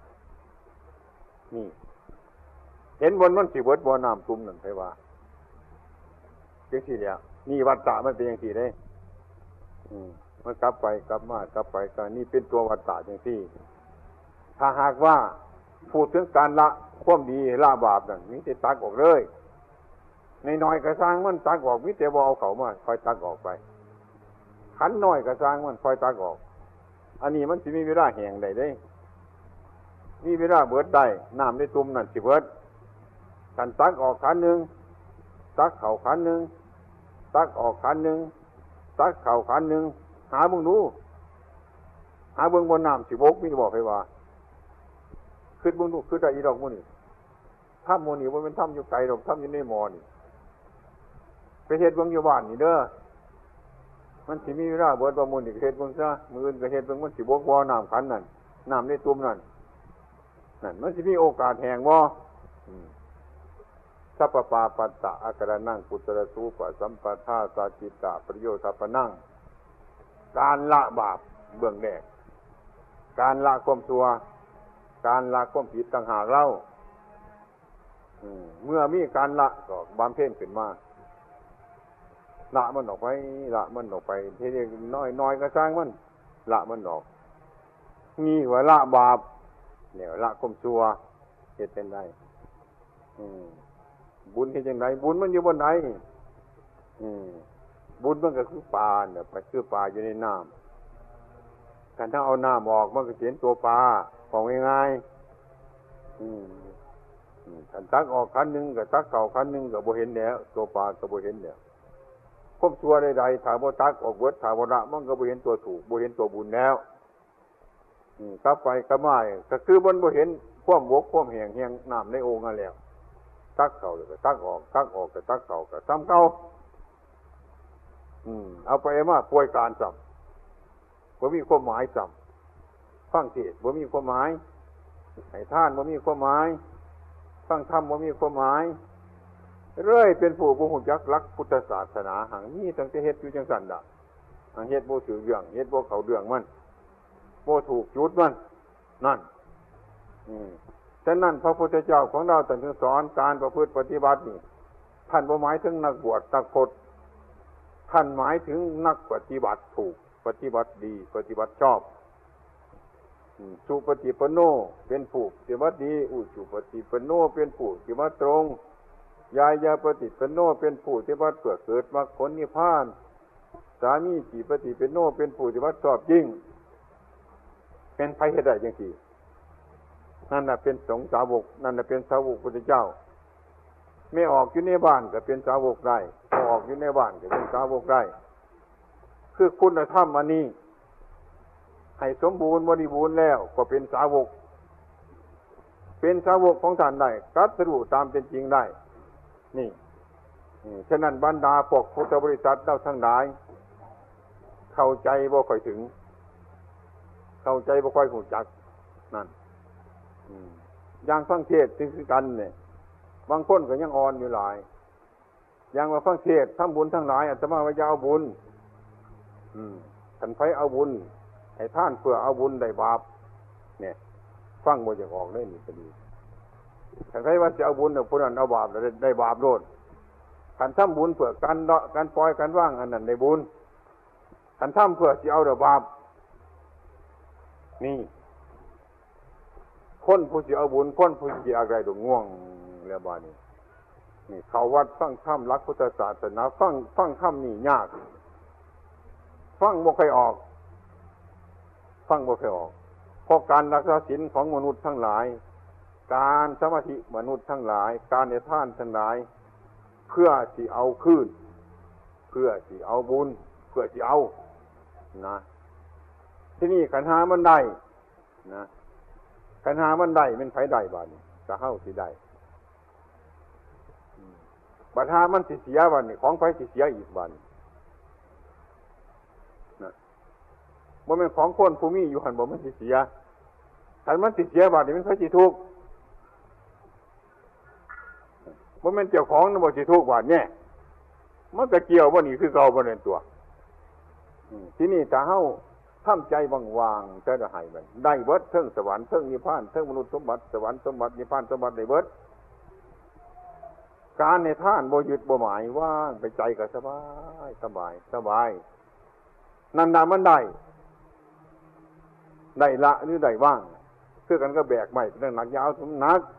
S3: นี่เห็นมันสิเวิดบ่น้ำตุ่มนั่นไผว่าจังซี่แหละนี่วัฏฏะมันเป็นจังซี่เด้มันกลับไปกลับมากลับไปก็นี่เป็นตัววัฏฏะจังซี่ถ้าหากว่าพูดถึงการละความดีละบาปนั่นมีแต่ตักออกเลยน้อยๆก็สร้างมันตักออกมีแต่บ่เอาเข้ามาค่อยตักออกไปขันน้อยก็สร้างมันค่อยตักออกอันนี้มันสิมีเวลาแห้งได้เด้มีเวลาเบิดได้น้ำในตุ่มนั่นสิเบิดกันตักออกขันนึงตักเข้าขันนึงตักออกขันนึงตักเข้าขันนึงหาเบิ่งดูหาเบิ่งบนน้ำสิบกมีบอกให้ว่าขึ้นเบิ่งดูขึ้นได้อีดอกมื้อนี้ถ้ำมื้อนี้บ่แม่นถ้ำอยู่ไกลดอกถ้ำอยู่ในหม้อนี่ไปเฮ็ดเบิ่งอยู่บ้านนี่เด้อมันสิมีเวลาเบิดประมูลอีกเฮ็ดเบิ่งซะมื้ออื่นก็เฮ็ดเบิ่งมันสิบกบ่น้ำขันนั่นน้ำในตุ่มนั่นมันสิมีโอกาสแห้งบ่สัพพปาปัตตะอาการนังปุตตะสูปะสัมปทาสาจิตตะประโยชน์ทัปนังการละบาปเบื้องแรกการละความชั่วการละความผิดต่างหากเล่าเมื่อมีการละก็บำเพ็ญขึ้นมาละมันออกไปละมันออกไปทีนี้น้อยก็สร้างมันละมันออกมีว่าละบาปเนี่ยละความชั่วเฮ็ดเป็นได้บุญเฮ็ดจังไดบุญมันอยู่บนไหนบุญมันก็คือปลาเนี่ยไปคือปลาอยู่ในน้ำการถ้าเอาน้ำออกมันก็เห็นตัวปลาของง่ายๆถ้าตักออกคันหนึ่งกับตักเก่าคันหนึ่งกับบ่เห็นแล้วตัวปลาก็บ่เห็นแล้วควบตัวใดๆถ้าบ่ตักออกเบิดถ้าบ่ละมันก็บ่เห็นตัวถูกบ่เห็นตัวบุญแล้วกลับไปกลับมาก็คือมันบ่เห็นความบกความแห้งน้ำในโอ่งนั่นแล้วตักเก่าเลยก็ตักออกตักออกก็ตักเก่าก็ซ้ำเก่าเอาไปมาป่วยการซ้ำบ่มีความหมายซ้ำฟังเทศน์บ่มีความหมายให้ทานบ่มีความหมายฟังธรรมบ่มีความหมายเรื่อยเป็นผู้บ่ฮู้จักหลักพุทธศาสนาหังมีตั้งแต่เฮ็ดอยู่จังซั่นดะหังเฮ็ดบ่ถือเรื่องเฮ็ดบ่เข้าเรื่องมันบ่ถูกจุดมันนั่นฉะนั้นพระพุทธเจ้าของเราท่านจึงสอนการประพฤติปฏิบัตินี่ท่านบ่หมายถึงนักบวชนักพรตท่านหมายถึงนักปฏิบัติถูกปฏิบัติดีปฏิบัติชอบสุปฏิปันโนเป็นผู้ปฏิบัติดีอุชุปฏิปันโนเป็นผู้ปฏิบัติตรงยายาปฏิปันโนเป็นผู้ปฏิบัติเพื่อเกิดมรรคผลนิพพานสามีจิปฏิปันโนเป็นผู้ปฏิบัติชอบยิ่งเป็นไผเฮ็ดได้จังซี่นั่นน่ะเป็นสงฆ์สาวกนั่นน่ะเป็นสาวกพุทธเจ้าไม่ออกอยู่ในบ้านก็เป็นสาวกได้ออกอยู่ในบ้านก็เป็นสาวกได้คือคุณธรรมอันนี้ให้สมบูรณ์บริบูรณ์แล้วก็เป็นสาวกเป็นสาวกของท่านได้ตรัสรู้ตามเป็นจริงได้นี่ฉะนั้นบรรดาพวกพุทธบริษัทเราทั้งหลายเข้าใจบ่ค่อยถึงเข้าใจบ่ค่อยรู้จักนั่นอย่างฟังเทศน์คือกันเนี่ยบางคนก็ยังอ่อนอยู่หลายอย่างว่าฟังเทศน์ทำบุญทั้งหลายอาตมาว่าจะเอาบุญท่านไผเอาบุญให้ท่านเพื่อเอาบุญได้บาปเนี่ยฟังบ่จะออกได้นี่ก็ดีท่านไผว่าจะเอาบุญเนี่ยผู้นั้นเอาบาปได้บาปโลดท่านทำบุญเพื่อการละการปล่อยการว่างอันนั้นได้บุญท่านทำเพื่อสิเอาได้บาปนี่คนผู้สิเอาบุญคนผู้สิอะไรดง่วงแล้วบาดนี้นี่เข้าวัดฟังธรรมหลักพุทธศาสนาฟังธรรมนี่ยากฟังบ่ค่อยออกเพราะการรักษาศีลของมนุษย์ทั้งหลายการสมาธิมนุษย์ทั้งหลายการให้ทานทั้งหลายเพื่อสิเอาคืนเพื่อสิเอาบุญเพื่อสิเอานะที่นี่ขันธ์5มันได้นะขันธ์5มันได้เป็นไผได้บาดนี้ก็เฮาสิได้บัดหามันสิเสียบาดนี้ของไผสิเสียอีกบาดนี้นะบ่แม่นของคนผู้มีอยู่หั่นบ่มันสิเสียคันมันสิเสียบาดนี้มันไผสิทุกข์บ่แม่นเจ้าของน่ะบ่สิทุกข์บาดนี้มันก็เกี่ยวบ่นี่คือเก่าบ่นั่นตัวที่นี่ถ้าเฮาทำใจว่างๆจะให้มันได้เบิดเทิงสวรรค์เทิงนิพพานเทิงมนุษย์สมบัติสวรรค์สมบัตินิพพานสมบัติได้เบิดการในท่านบ่ยึดบ่หมายว่างไปใจก็สบายนั่นน่ะมันได้ละหรือได้ว่างคือกันก็แบกไม้เป็นหนักยาวสมนัก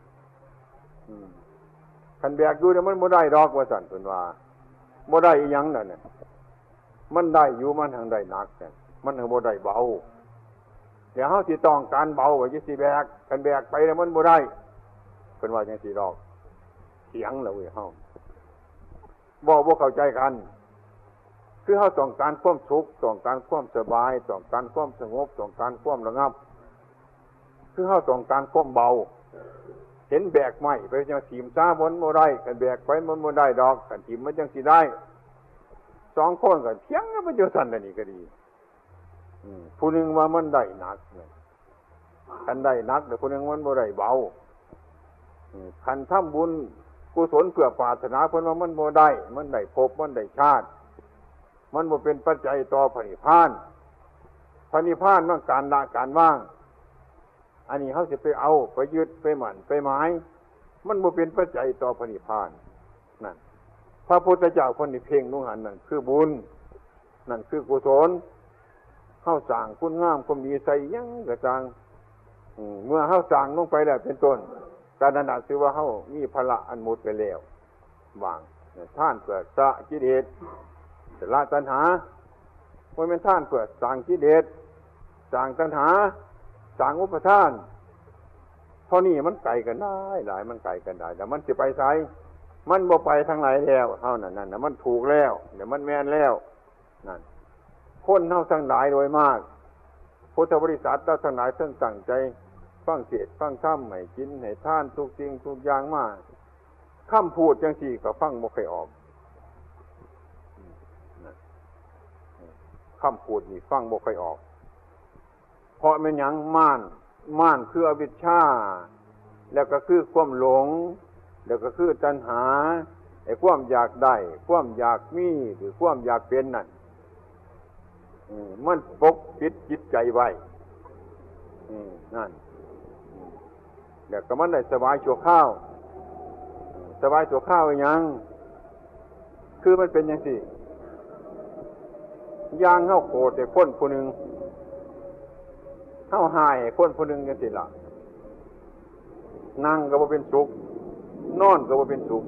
S3: คันแบกอยู่เนี่ยมันบ่ได้ดอกว่าซั่นเพิ่นว่าบ่ได้อีหยังนั่นน่ะมันได้อยู่มันทางได้หนักเนี่ยมันบ่ได้เบาเดี๋ยวเฮาสิต้องการเบาว่าสิแบกคันแบกไปแล้วมันบ่ได้เพิ่นว่าจังซี่ดอกเถียงแล้วเว้ยเฮาบ่เข้าใจกันคือเฮาต้องการความสุขต้องการความสบายต้องการความสงบต้องการความระงับคือเฮาต้องการความเบาเห็นแบกไม้ไปจังสิมซ่าบ่ได้คันแบกไปมันบ่ได้ดอกคันสิมมันจังสิได้สองคนก็เถียงกันไปจนสั่นนี่ก็ดีผู้หนึ่งว่ามันได้หนักคันได้หนักแต่ผู้หนึ่งมันบ่ได้เบาคันทำบุญกุศลเพื่อปรารถนาเพิ่นว่ามันบ่ได้มันได้ภพมันได้ชาติมันบ่เป็นปัจจัยต่อพระนิพพานพระนิพพานมันการละการว่างอันนี้เขาจะไปเอาไปยึดไปหมั่นไปหมายมันบ่เป็นปัจจัยต่อพระนิพพานนั่นพระพุทธเจ้าคนที่เพ่งนุ่งหันนั่นคือบุญนั่นคือกุศลเข้าสร้างคุณงามความดีใส่ยังกระจังเมื่อเข้าสร้างลงไปแล้วเป็นต้นการนั้นถือว่าเข้ามีพละอันมุดไปแล้ววางท่านเพื่อสะกิเลสละตัณหาว่าเป็นท่านเพื่อสร้างกิเลสสร้างตัณหาสร้างอุปทานเท่านี้มันไกลกันได้หลายมันไกลกันได้แต่มันจะไปไสมันบ่ไปทางไหนแล้วเท่านั้นนั่นมันถูกแล้วเดี๋ยวมันแม่นแล้วนั่นคนเท่าทั้งหลายโดยมากพุทธบริษัทเราทั้งหลายทั้งตั้งใจฟังเทศน์ฟังธรรมให้กินให้ทานทุกสิ่งทุกอย่างมาคำพูดจังซี่ก็ฟังบ่ค่อยออกคำพูดนี่ฟังบ่ค่อยออกเพราะมันหยังม่านคืออวิชชาแล้วก็คือความหลงแล้วก็คือตัณหาไอ้ความอยากได้ความอยากมีหรือความอยากเป็นนั่นมันปกปิดจิตใจไว้นั่นแล้วก็มันได้สบายชั่วคราวสบายชั่วคราวยังคือมันเป็นจังซี่อย่างเฮาโกรธแต่คนผู้หนึ่งเฮาหายคนผู้หนึ่งจังซี่ล่ะนั่งก็บ่เป็นสุขนอนก็บ่เป็นสุข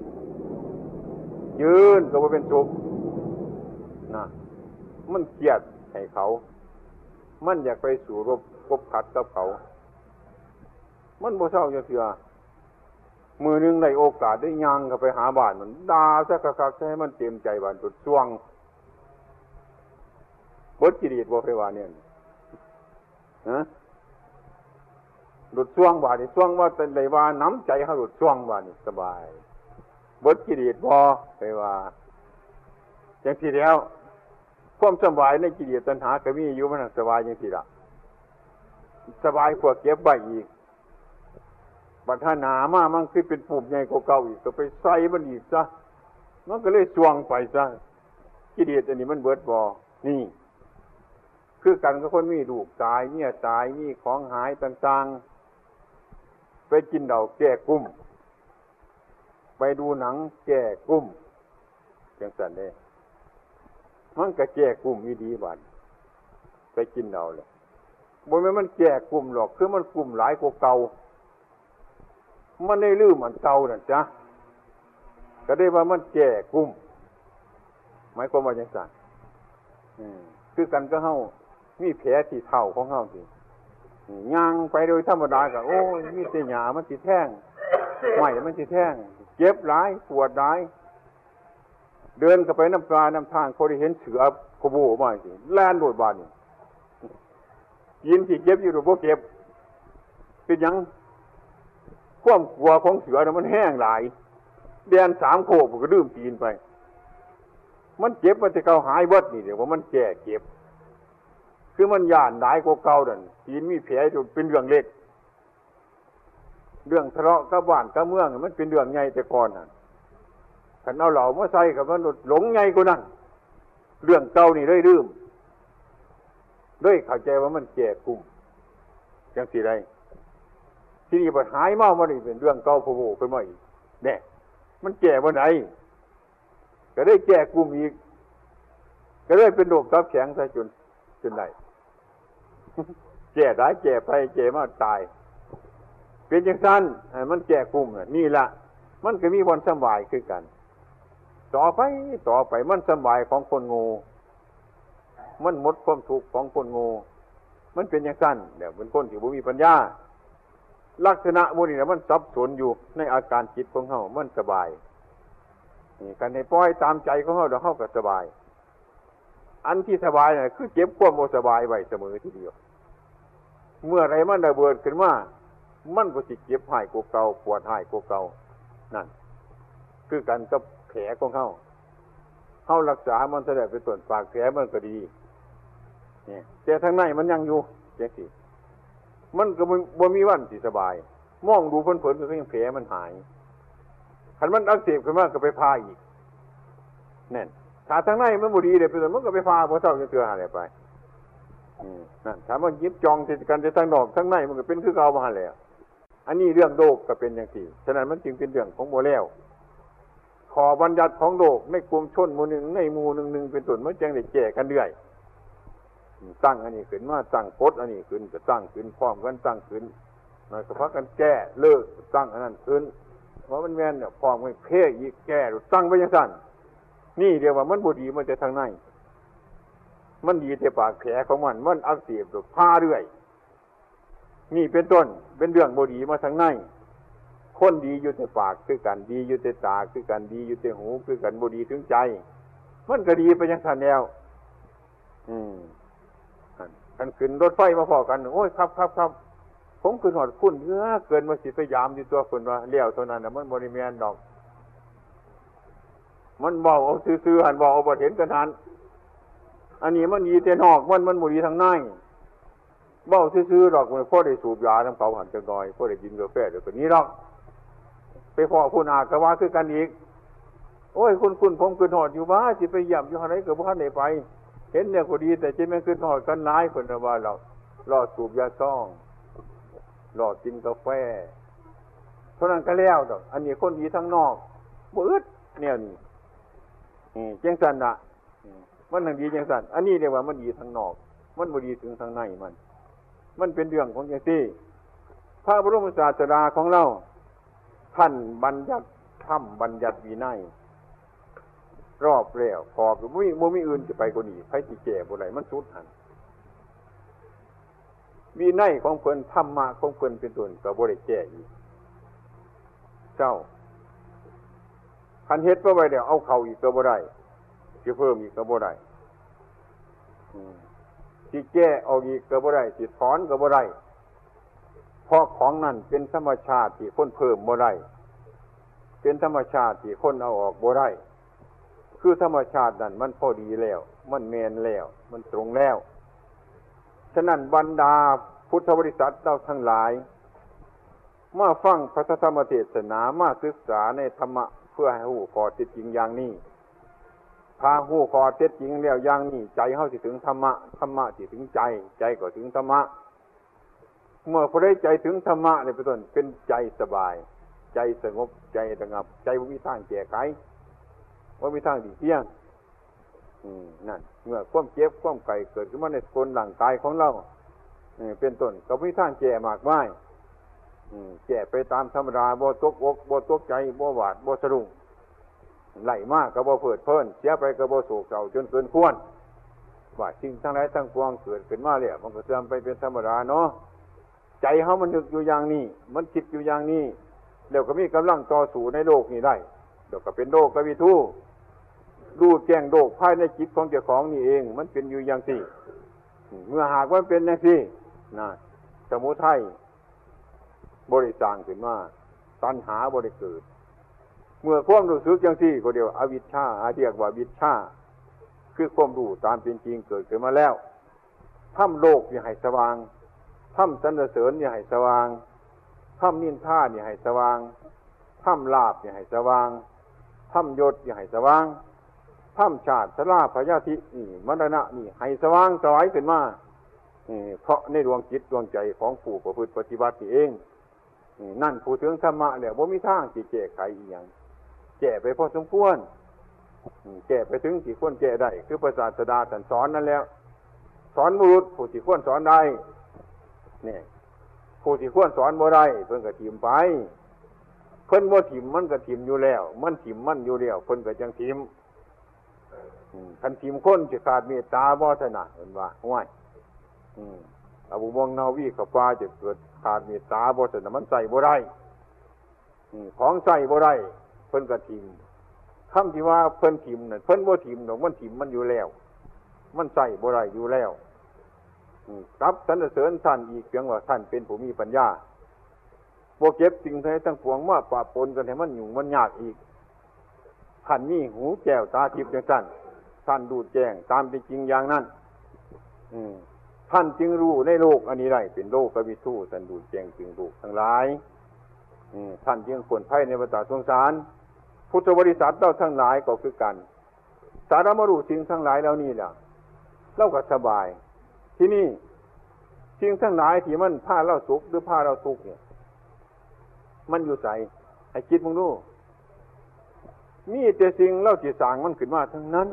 S3: ยืนก็บ่เป็นสุขนะมันเกลียดให้เขามันอยากไปสู่รบกบขัดกับเขามันบ่เศร้าจังซี่มือนึงได้โอกาสได้ย่างเข้าไปหาบ้านมันด่าซะคักๆให้มันเต็มใจบ้านตุดช่วงบดกิเลสบ่ไปว่าเนี่ยฮะหลุดช่วงบาดนี่ช่วงว่าเป็นได้ว่าน้ำใจเฮาหลุดช่วงบาดนี่สบายบดกิเลสบ่ไปว่าจังซี่แล้วความสบายในกิเลสตัณหาก็มีอยู่มันสบายจังซี่ล่ะสบายกว่าเก็บไว้อีกบัดถ้าหนามามันคือเป็นปุ่มใหญ่กว่าเก่าอีกก็ไปใส่มันอีกซะมันก็เลยช่วงไปซะกิเลสอันนี้มันเบิดบ่นี่คือกันกับคนมีลูกตายเมียตายมีของหายต่างๆไปกินเหล้าแก้กุ้มไปดูหนังแก้กุ้มจังซั่นเด้มันก็แก้กุ้มอยู่ดีบัดไปกินเหล้าเลยบ่แม่นมันแก้กุ้มหรอกคือมันกุ้มหลายกว่าเก่ามันได้ลืมอันเก่านั่นจ้ะก็ได้ว่ามันแก้กุ้มหมายความว่าจังซั่นคือกันก็เฮามีแผลที่เท้าของเฮาสิย่างไปโดยธรรมดาก็โอ้ยมีแต่หญ้ามันสิแท่งไม้มันสิแท่งเจ็บหลายปวดหลายเดินเข้าไปน้ำกาน้ำทางเขาได้เห็นเสือขโมยมาสิแล่นโดดบานนี่กินที่เก็บอยู่หรือบ่เก็บเป็นหยังความกลัวของเสือมันแห้งหลายเดิน3 โคกก็ดื่มตีนไปมันเจ็บมันจะเก่าหายเบิดนี่เดี๋ยวว่ามันแก่เจ็บคือมันย่านหลายกว่าเก่านั่นตีนมีแผลจนเป็นเรื่องเล็กเรื่องทะเลาะกับบ้านกับเมืองมันเป็นเรื่องใหญ่แต่ก่อนน่ะคันเอาเหล่ามาใส่กับมันหลงใหญ่กว่านั้นเรื่องเก่านี่เลยลืมด้วยเข้าใจว่ามันแก่กุ่มจังสิได้ที่นี่บัดหายเมาบ่ได้เป็นเรื่องเก่าโผล่ขึ้นมาอีกแน่มันแก่บ่ไหนก็ได้แก่กุ่มอีกก็ได้เป็นโรคตับแข็งซะจนได้แก่ได้แก่ไปแก่มาตายเป็นจังซั่นมันแก่กุ่มนี่ล่ะมันก็มีวันสบายคือกันต่อไปมันสบายของคนโง่มันหมดความทุกข์ของคนโง่มันเป็นจังซั่นเดี๋ยวเป็นคนที่บ่มีปัญญาลักษณะพวกนี้มันสับสนอยู่ในอาการจิตของเฮามันสบายนี่กันให้ปล่อยตามใจของเฮาเดี๋ยวเฮาก็สบายอันที่สบายน่ะคือเก็บความบ่สบายไว้เสมอทีเดียวเมื่อไรมันระเบิดขึ้นมามันก็สิเจ็บหายกว่าเก่าปวดหายกว่าเก่านั่นคือกันกับแผลของเฮาเฮารักษามันจะได้เป็นต้นปากแผลมันก็ดีเนี่ยแต่ทางในมันยังอยู่จังซี่มันก็บ่มีวันสิสบายมองดูเพิ่นๆก็ยังแผลมันหายคันมันอักเสบขึ้นมาก็ไปพาอีกแน่นถ้าทางในมันบ่ดีเด้เป็นต้นมันก็ไปพาบ่เท่าจะเทื่อหาได้ไปนั่นถ้ามันยิบจองสิกันแต่ทางนอกทางในมันก็เป็นคือเก่ามาหั่นแหละอันนี้เรื่องโลกก็เป็นจังซี่ฉะนั้นมันจึงเป็นเรื่องของบ่แล้วขอบัญญัติของโลกในกลุ่มชนหมู่หนึ่งในหมู่หนึ่งเป็นต้นมันจังได้แก้กันเรื่อยตั้งอันนี้ขึ้นมาตั้งกฎอันนี้ขึ้นก็ตั้งขึ้นพร้อมกันตั้งขึ้นหน่อยก็พากันแก้เลิกตั้งอันนั้นขึ้นว่ามันแม่นเนี่ยพร้อมกันเพ่อีกแก้ตั้งไว้จังซั่นนี่เรียกว่ามันบ่ดีมันจะทางในมันดีแต่ปากแผลของมันอักเสบพาเรื่อยนี่เป็นต้นเป็นเรื่องบ่ดีมาทางในคนดีอยู่แต่ปากคือกันดีอยู่แต่ตาคือกันดีอยู่แต่หูคือกันบ่ดีถึงใจมันก็ดีไปจังซั่นแล้วกันขึ้นรถไฟมาพอกันโอ้ยครับผมขึ้นหอดคุณเกินมาสิพยายามอยู่ตัวคนว่าเลี้ยวเท่านั้นน่ะมันบ่ได้แม่นดอกมันเว้าเอาซื่อๆหันเว้าเอาบ่เห็นกันหันอันนี้มันดีแต่นอกมันบ่ดีทางในเว้าซื่อๆดอกมันพอได้สูบยานำเขาหันจังน้อยพอได้กินกาแฟเดี๋ยวก็นี้ดอกไปพ้อผู้นาก็ว่าคือกันอีกโอ้ยคุณผมขึ้นหอดอยู่ว่าสิไปย่ำอยู่หั่นไหนก็บ่ทันได้ไปเห็นเนี่ยก็ดีแต่จิแม่นขึ้นหอดกันหลายเพิ่นว่าเรารอสูบยาซ่องรอกินกาแฟเท่านั้นก็แล้วดอกอันนี้คนดีทั้งนอกบ่อึดแนวนี้จังซั่นน่ะมันทั้งดีจังซั่นอันนี้เรียกว่ามันดีทั้งนอกมันบ่ดีถึงทางในมันเป็นเรื่องของจังซี่พระบรมศาสดาของเราท่านบัญญัติธรรมบัญญัติวินัยรอบแล้วพอก็บ่มีอื่นจะไปกว่านี้ไผสิแก้บ่ได้มันสุดหั่นวินัยของเพิ่นธรรมะของเพิ่นเป็นต้นก็บ่ได้แก้อีกเจ้าคันเฮ็ดบ่ไว้แล้วเอาเข้าอีกก็บ่ได้สิเพิ่มอีกก็บ่ได้สิแก้ออกอีกก็บ่ได้สิถอนก็บ่ได้เพราะของนั้นเป็นธรรมชาติที่คนเพิ่มบ่ได้เป็นธรรมชาติที่คนเอาออกบ่ได้คือธรรมชาตินั้นมันพอดีแล้วมันแม่นแล้วมันตรงแล้วฉะนั้นบรรดาพุทธบริษัทเราทั้งหลายมาฟังพระธรรมเทศนามาศึกษาในธรรมะเพื่อให้รู้ข้อเท็จจริงอย่างนี้ถ้ารู้ข้อเท็จจริงแล้วอย่างนี้ใจเฮาสิถึงธรรมะธรรมะสิถึงใจใจก็ถึงธรรมะเมื่อพอได้ใจถึงธรรมะนี่เป็นต้นเป็นใจสบายใจสงบใจระงับใจบ่มีทางแก้ไขบ่มีทางดีเที่ยงนั่นเมื่อความเจ็บความไข้เกิดขึ้นมาในคนร่างกายของเราเป็นต้นก็มีทางแก้มากมายแก้ไปตามธรรมดาบ่ตกอกบ่ตกใจบ่หวาดบ่สะดุ้งไหลมากก็บ่เพิดเพลินเสียไปก็บ่โศกเศร้าจนเกินควรว่าสิ่งทั้งหลายทั้งปวงเกิดขึ้นมาแล้วมันก็เสื่อมไปเป็นธรรมดาเนาะใจเฮามันนึกอยู่อย่างนี้มันคิดอยู่อย่างนี้แล้วก็มีกำลังต่อสู้ในโลกนี้ได้เดี๋ยวก็เป็นโลกกวิทูรู้แจ้งโลกภายในจิตของเจ้าของนี่เองมันเป็นอยู่อย่างนี้เมื่อหากว่าเป็นอย่างนี้นะสมุทัยบริสร้างขึ้นมาตัณหาบริเกิดเมื่อความรู้สึกอย่างนี้ก็เดียวอวิชชาเรียกว่าวิชชาคือความรู้ตามเป็นจริงเกิดขึ้นมาแล้วทำโลกอย่าให้สว่างทำสรรเสริญอย่าให้สว่างทำนินทาอย่าให้สว่างทำลาภอย่าให้สว่างทำยศอย่าให้สว่างทำชาติชราพยาธินี่มรณะนี่ให้สว่างสวายขึ้นมาเพราะในดวงจิตดวงใจของผู้ประพฤติปฏิบัติเองนั่นผู้ถึงธรรมะแล้วบ่มีทางที่แก้ไขอีหยังแก้ไปพอสมควรแก้ไปถึงที่ควรแก้ได้คือพระศาสดาท่านสอนนั่นแล้วสอนบุรุษผู้ที่ควรสอนได้นี่ผู้ที่ควรสอนบ่ได้เพิ่นก็ทิ่มไปเพิ่นบ่ทิ่มมันก็ทิ่มอยู่แล้วมันทิ่มมันอยู่แล้วเพิ่นก็จังทิ่มคันทิ่มคนสิขาดเมตตาบ่ถนัดเพิ่นว่าห้วยอาบุมองนาวีกับฟ้าจะเกิดขาดเมตตาบ่ถนัดมันใส่บ่ได้ของใส่บ่ได้เพิ่นก็ทิ่มคำที่ว่าเพิ่นทิ่มนั่นเพิ่นบ่ทิ่มดอกมันทิ่มมันอยู่แล้วมันใส่บ่ได้อยู่แล้วกับสรรเสริญท่านอีกเพียงว่าท่านเป็นผู้มีปัญญาบ่เก็บสิ่งใดทั้งปวงมาปะปนกันให้มันยุ่งมันยากอีกท่านนี่หูแก้วตาทิพย์อย่างนั้นท่านดูแจ้งตามเป็นจริงอย่างนั้นท่านจึงรู้ในโลกอันนี้ได้เป็นโลกวิทูท่านดูแจ้งจึงรู้ทั้งหลายท่านจึงควรไพ่ในวัฏสงสารพุทธบริษัทเราทั้งหลายก็คือกันสารมรู้สิ่งทั้งหลายเหล่านี้ล่ะเราก็สบายที่นี่สิ่งทั้งหลายที่มันพาเราสุขหรือพาเราทุกข์เนี่ยมันอยู่ใส่ให้คิดมึงดูมีแต่สิ่งเล่าจีสางมันขึ้นมาทั้งนั้น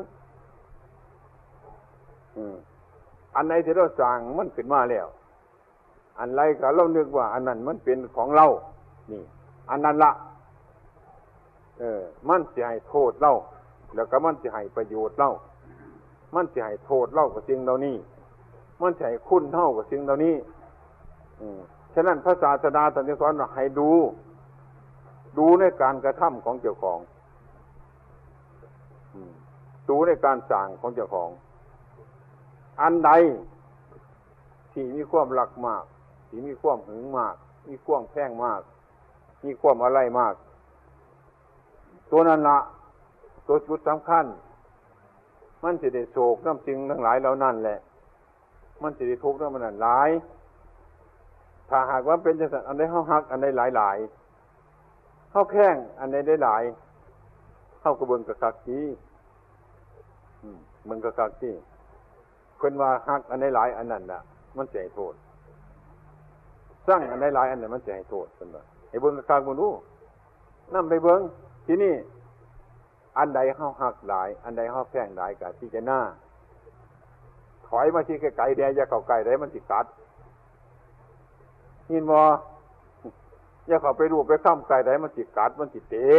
S3: อันไหนที่เราสร้างมันขึ้นมาแล้วอันไรก็เรานึกว่าอันนั้นมันเป็นของเรานี่อันนั้นละมันจะให้โทษเราแล้วก็มันจะให้ประโยชน์เรามันจะให้โทษเรากับสิ่งเหล่านี้มันจะให้คุณเท่ากับสิ่งเหล่านี้ฉะนั้นพระศาสดาตรัสสอนว่าให้ดูในการกระทำของเจ้าของดูในการสร้างของเจ้าของอันใดที่มีความรักมากที่มีความหึงมากมีความแพงมากมีความอะไรมากตัวนั้นละตัวจุดสำคัญมันจะได้โศกน้ำสิ่งทั้งหลายเหล่านั้นแหละมันจะได้ทุกข์น้ำมันนั้นหลายถ้าหากว่าเป็นจังซั่นอันใดเฮาฮักอันใดหลายเฮาแข้งอันใดได้หลายเฮาก็เบิ่งกะคักสิมันกะคักสิเพิ่นว่าฮักอันใดหลายอันนั้นน่ะมันสิให้โทษสร้างอันใดหลายอันนั้นมันสิให้โทษเพิ่นว่าให้เบิ่งกะคักบ่รู้นำไปเบิ่งที่นี่อันใดเฮาฮักหลายอันใดเฮาแพงหลายก็พิจารณาถอยมาที่ไกลๆแดอย่าเข้าใกล้ได้มันสิกัดยินบ่อย่าเข้าไปรูปไปค้ำไกลได้มันสิกัดมันสิเตะ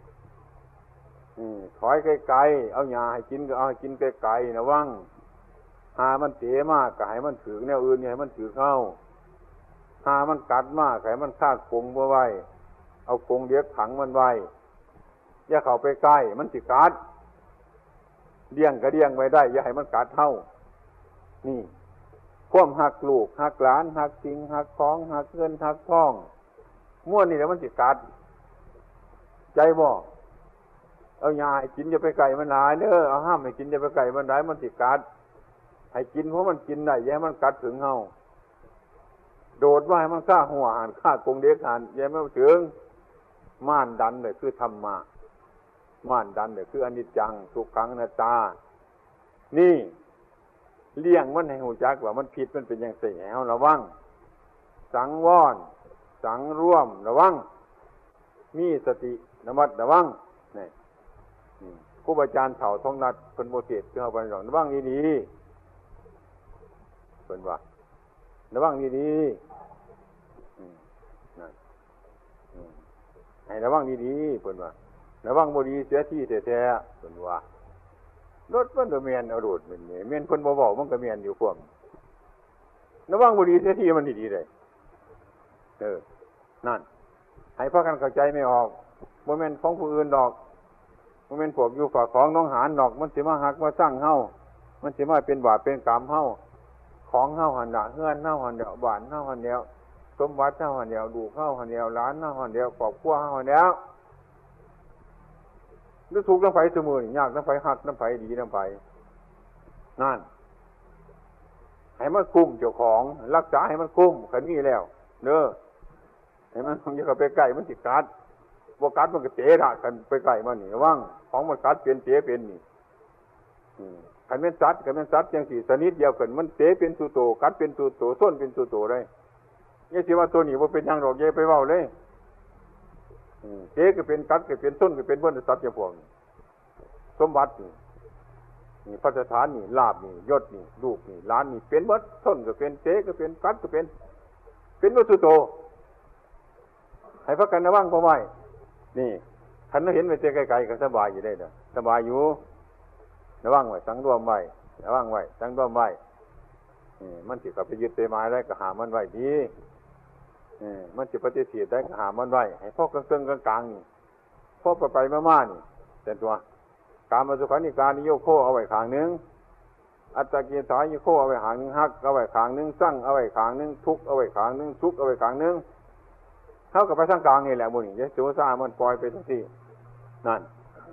S3: ถอยไกลๆเอาหญ้าให้กินก็เอาให้กินไกลๆนะวังหามันเตะมากก็ให้มันถือแนวอื่นอย่าให้มันถือเข้าหามันกัดมากก็ให้มันฆ่ากรงบ่ไว้เอากรงเลี้ยงขังมันไว้อย่าเข้าไปใกล้มันสิกัดเลี้ยงก็เลี้ยงไว้ได้อย่าให้มันกัดเท่านี่ความหักลูกหักหลานหักสิ่งหักของหักเงินหักทองม้วนนี่แหละมันสิกัดใจบ่เอายาให้กินอย่าไปไก่มันหลายเด้อเอาห้ามให้กินอย่าไปไก่มันหลายมันสิกัดให้กินเพราะมันกินได้อย่าให้มันกัดถึงเฮาโดดว่าให้มันฆ่าหัวหันฆ่ากงเด็กหันอย่าให้มันถึงม่านดันเลยคือธรรมะม่านดันเลยคืออนิจจังทุกขังอนัตตานี่เลี้ยงมันให้หูจักว่ามันผิดมันเป็นอย่างไรเอาระวังสังวรสังร่วมระวังมีสติระมัดระวังนี่ครูบาอาจารย์เฒ่าท้องนัดเพิ่นบ่เทศน์คือเฮาบ่ได้ระวังดีๆเพิ่นว่าระวังดีๆนั่นให้ระวังดีๆเพิ่นว่าระวังบ่ดีเสียที่แท้ๆเพิ่นว่ารถมันก็แม่นเอาโดดแม่นเพิ่นบ่เว้ามันก็แม่นอยู่พวกระวังบ่ดีเสียที่มันดีๆได้นั่นให้พากันเข้าใจไม่ออกบ่แม่นของผู้อื่นดอกบ่แม่นพวกอยู่ฝากของน้องหานดอกมันสิมาหักมาสร้างเฮามันสิมาเป็นบาปเป็นกรรมเฮาของเฮาหั่นน่ะเฮือนเฮาหั่นเดียวบ้านเฮาหั่นเดียวสมบัติเฮาหั่นเดียวลูกเฮาหั่นเดียวหลานเฮาหั่นเดียวครอบครัวเฮาหั่นเดียวหรือถูกน้ำไฟเสมอนี่ยากน้ำไฟหักน้ำไฟดีน้ำไฟนั่นให้มันคุ้มเจ้าของรักษาให้มันคุ้มขันนี้แล้วเด้อให้มันอย่าเข้าไปใกล้มันสิกัดบ่กัดมันก็เตะละกันไปใกล้มันนี่ว่างของมันกัดเป็นเตะเป็นนี่ขันเป็นสัตว์จังสี่ชนิดเดียวกันมันเตะเป็นสุโตกัดเป็นสุโตส้นเป็นสุโตได้ยังสิว่าตัวนี้ว่าเป็นยังดอกเย่ไปเว้าเลยเจ๊ก็เป็นกัดก็เป็นต้นก็เป็นเบิ้ลสัตว์อย่างพวกสมบัตินี่พระสถานนี่ลาบนี่ยศนี่ลูกนี่หลานนี่เป็นเบิ้ลต้นก็เป็นเจ๊ก็เป็นกัดก็เป็นวัตถุโตให้พักกันระวังพอไว้นี่ท่านเห็นไปเจ๊ไกลๆก็สบายอยู่ได้เด้อสบายอยู่ระวังไว้สังรวมไว้ระวังไว้สังรวมไว้มันสิกับไปยึดเตะไม้ได้ก็หามันไว้ดีมันจะปฏิเสธได้ก็หามันไว้ให้พ่อกลางๆกลางๆนี่พ่อไปมาๆนี่แต่ตัวการมาสุขานิการนิโยโคเอาไว้ข้างนึงอัตตกิสานิโคเอาไว้ข้างนึงฮักเอาไว้ข้างนึงสั่งเอาไว้ข้างนึงทุกเอาไว้ข้างนึงสุขเอาไว้ข้างนึงเท่ากับไปทางกลางนี่แหละบุญนี่ยะโสซามันปล่อยไปทั้งที่นั่น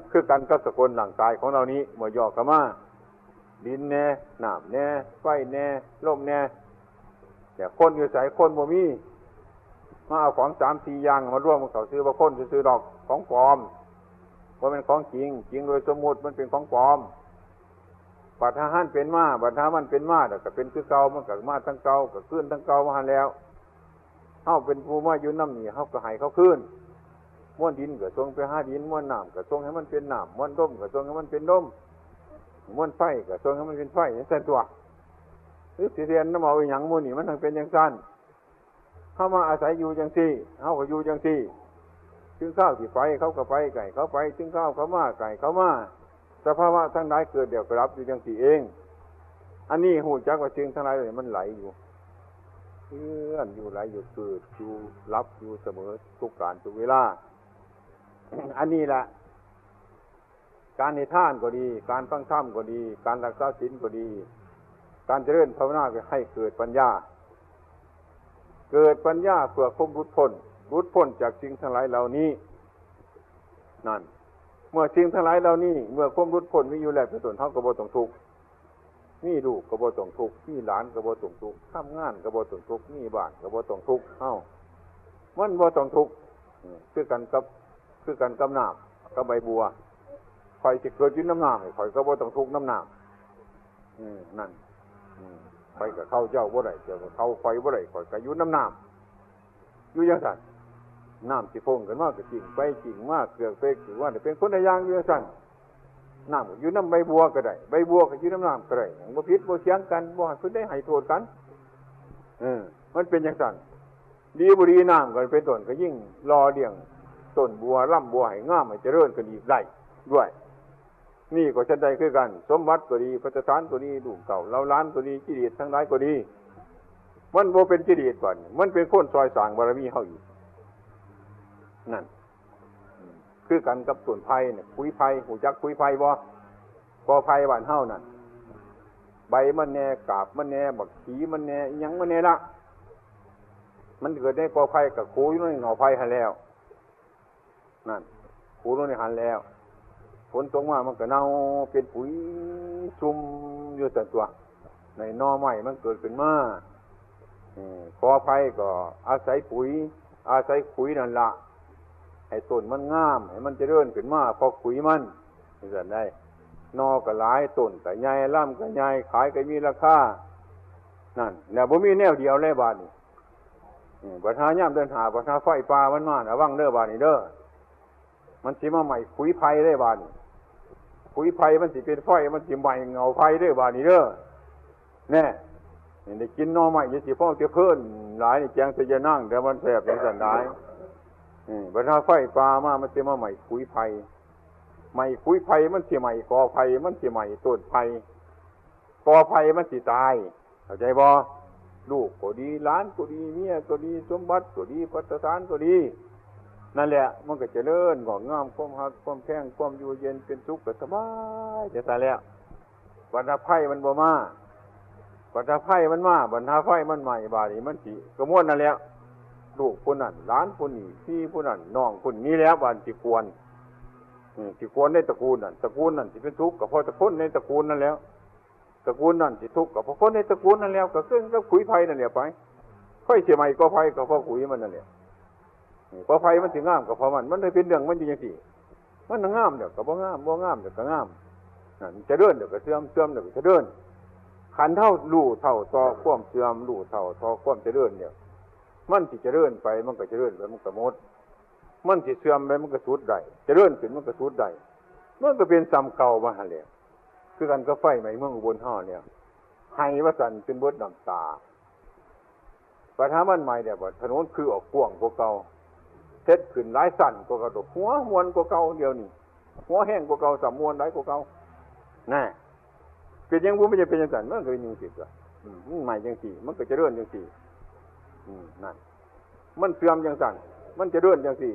S3: คือกันกับสกุลร่างกายของเรานี้เมื่อย่อเข้ามาดินแน่น้ำแน่ไฟแน่ลมแน่แต่คนอยู่ใส่คนบ่มีมาเอาของ3-4อย่างมาร่วมกันเขาซื้อว่าคนซื้อดอกของปลอมว่าเป็นของจริงจริงโดยสมมุติมันเป็นของปลอมบัดทหารเป็นมาบัดทหารมันเป็นมาแต่ก็เป็นคือเก่ามันก็มาทั้งเก่าก็ขึ้นทั้งเก่ามาหันแล้วเฮาเป็นผู้มาอยู่น้ำนี่เฮาก็ให้เขาขึ้นม้วนดินก็ทรงไปหาดินม้วนน้ำก็ทรงให้มันเป็นน้ำม้วนลมก็ทรงให้มันเป็นลมม้วนไฟก็ทรงให้มันเป็นไฟอย่างนั้นตัวหรือสิเรียนน้ำเอาอย่างม้วนนี่มันทั้งเป็นอย่างนั้นเฮามาอาศัยอยู่จังซี่เฮาก็อยู่จังซี่ถึงข้าวที่ไปเขาก็ไปไก่เขาไปถึงข้าวเขามาไก่เขามาสภาวะทั้งหลายเกิดเดี๋ยวก็รับอยู่จังซี่เองอันนี้หูจักว่าสิ่งทั้งหลายเลยมันไหลอยู่เลื่อนอยู่ไหลอยู่เกิดอยู่รับอยู่เสมอทุกการทุกเวลา อันนี้แหละการในท่านก็ดีการฟังธรรมก็ดีการรักษาศีลก็ดีการเจริญภาวนาก็ให้เกิดปัญญาเกิดปัญญาเพื่อความหลุดพ้นจากสิ่งทั้งหลายเหล่านี้นั่นเมื่อสิ่งทั้งหลายเหล่านี้เมื่อความหลุดพ้นมีอยู่แล้วเป็นต้นเฮาก็บ่ต้องทุกข์มีลูกก็บ่ต้องทุกข์มีหลานก็บ่ต้องทุกข์ทำงานก็บ่ต้องทุกข์มีบ้านก็บ่ต้องทุกข์เอ้ามันบ่ต้องทุกข์คือกันกับน้ำกับใบบัวข่อยสิเกิดอยู่น้ำน้ำข่อยก็บ่ต้องทุกข์น้ำน้ำนั่นข่อยก็เข้าเจ้าบ่ได้เจ้าก็เข้าข่อยบ่ได้ข่อยก็อยู่น้ำน้ำอยู่จังซั่นน้ำสิพงกันมาก็จริงไปจริงมาเกลือกไปคือว่าเป็นคนละอย่างอยู่จังซั่นน้ำก็อยู่น้ำใบบัวก็ได้ใบบัวก็อยู่น้ำน้ำก็ได้บ่ผิดบ่เถียงกันบ่ให้เพิ่นได้ให้โทษกันมันเป็นจังซั่นดีบ่ดีน้ำก็เป็นต้นก็ยิ่งรอเลี้ยงต้นบัวร่ำบัวให้งามให้เจริญขึ้นอีกได้ด้วยนี่ก็ฉันใดคือกันสมบัติก็ดีพัฒฐานก็ดีลูกเก่าเล่าล้านก็ดีกิเลสทั้งหลายก็ดีมันบ่เป็นกิเลสบ่นี่มันเป็นคนซอยสร้างบารมีเฮาอยู่นั่นคือกันกับต้นไผ่เนี่ยปุ๋ยไผ่หูจักปุ๋ยไผ่บ่กอไผ่บ้านเฮานั่นใบมันแน่กาบมันแน่บักขีมันแน่อิหยังมันแน่ละมันเกิดได้กอไผ่กับโคอยู่ในเงาไผ่หั่นแล้วนั่นโคอยู่ในหันแล้วฝนตกมามันก็เน่าเป็นปุ๋ยซุ่มอยู่แต่ตัวในหน่อไม้มันเกิดขึ้นมากอไผ่ก็อาศัยปุ๋ยอาศัยขุยนั่นละให้ต้นมันงามให้มันเจริญขึ้นมาพอขุยมันจะได้นอก็หลายต้นก็ใหญ่ล่ำก็ใหญ่ขายก็มีราคานั่นเนี่ยบ่มีแนวเดียวเลยบาดนี้ปัญหาย่ำเดินหาปัญหาไฟป่ามันมาระวังเด้อบาดนี้เด้อมันสิมาใหม่ขุยไผ่ได้บาดนี้ขุยไผ่มันสิเป็นไฟมันสิใหม่เงาไผ่ได้บาดนี้เด้อแน่ได้กินนอใหม่จะสิพ่อจะเพิ่นหลายนี่แจงจะนั่งแต่มันแสบอย่างสันได้ปัญหาไฟป่ามามันสิมาใหม่ขุยไผ่ใหม่ขุยไผ่มันสิใหม่กอไผ่มันสิใหม่ต้นไผ่กอไผ่มันสิตายเข้าใจบ่ลูกก็ดีหลานก็ดีเมียก็ดีสมบัติก็ดีพัฒฐานก็ดีนั่นแหละมันก็เจริญงอกงามความหักความแพงความอยู่เย็นเป็นสุขก็สบายจะตายแล้วบรรดาไผ่มันบ่มาบรรดาไผ่มันมาบรรดาไฟมันใหม่บาดนี้มันสิกระมวลนั่นแล้วลูกคนนั้นหลานคนนี้พี่ผู้นั้นน้องคนนี้แล้วบาดสิควรในตระกูลนั่นสิเป็นทุกข์ก็เพราะตระกูลในตระกูลนั่นแล้วตระกูลนั่นสิทุกข์ก็เพราะคนในตระกูลนั่นแล้วก็ขึ้นกับขุยไผ่นั่นแหละไปค่อยเสียใหม่ก็ไผ่ก็เพราะขุยมันนั่นแหละพอไฟมันสิงามก็เพราะมันเลยเป็นเรื่องมันอยู่จังซี่มันงามเดี๋ยวก็บ่งามเดี๋ยวก็งามนั่นจะเดินเดี๋ยวก็เสื่อมเดี๋ยวก็จะเดินขันเท่ารู้เท่าต่อความเสื่อมรู้เท่าต่อความจะเดินเนี่ยมันสิจะเดินไปมันก็จะเดินไปมันก็หมดมันสิเสื่อมไปมันก็สุดได้จะเดินขึ้นมันก็สุดได้มันก็เป็นซ้ำเก่ามาหั่นแหละคือกันก็ไฟใหม่เมืองอุบลฮ้อเนี่ยให้ว่าสั่นเป็นเบิดน้ำตาปัญหามันใหม่เนี่ยว่าถนนคือออกกว้างกว่าเก่าเฮ็ดขึ้นหลายสั่นกว่าเก่าหัวมวนกว่าเก่าเดียวนี่หัวแห้งกว่าเก่าสำมวนหลายกว่าเก่าน่ะเป็นยังบ่ไม่จะเป็นจังซั่นมันก็เป็นจังซี่ล่ะมันใหม่จังซี่มันก็จะเดินจังซี่นั่นมันเสื่อมจังซั่นมันจะเดินจังซี่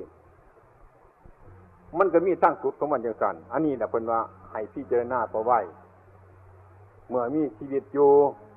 S3: มันก็มีตั้งสุดของมันจังซั่นอันนี้น่ะเพิ่นว่าให้พิจารณาเอาไว้เมื่อมีชีวิตอยู่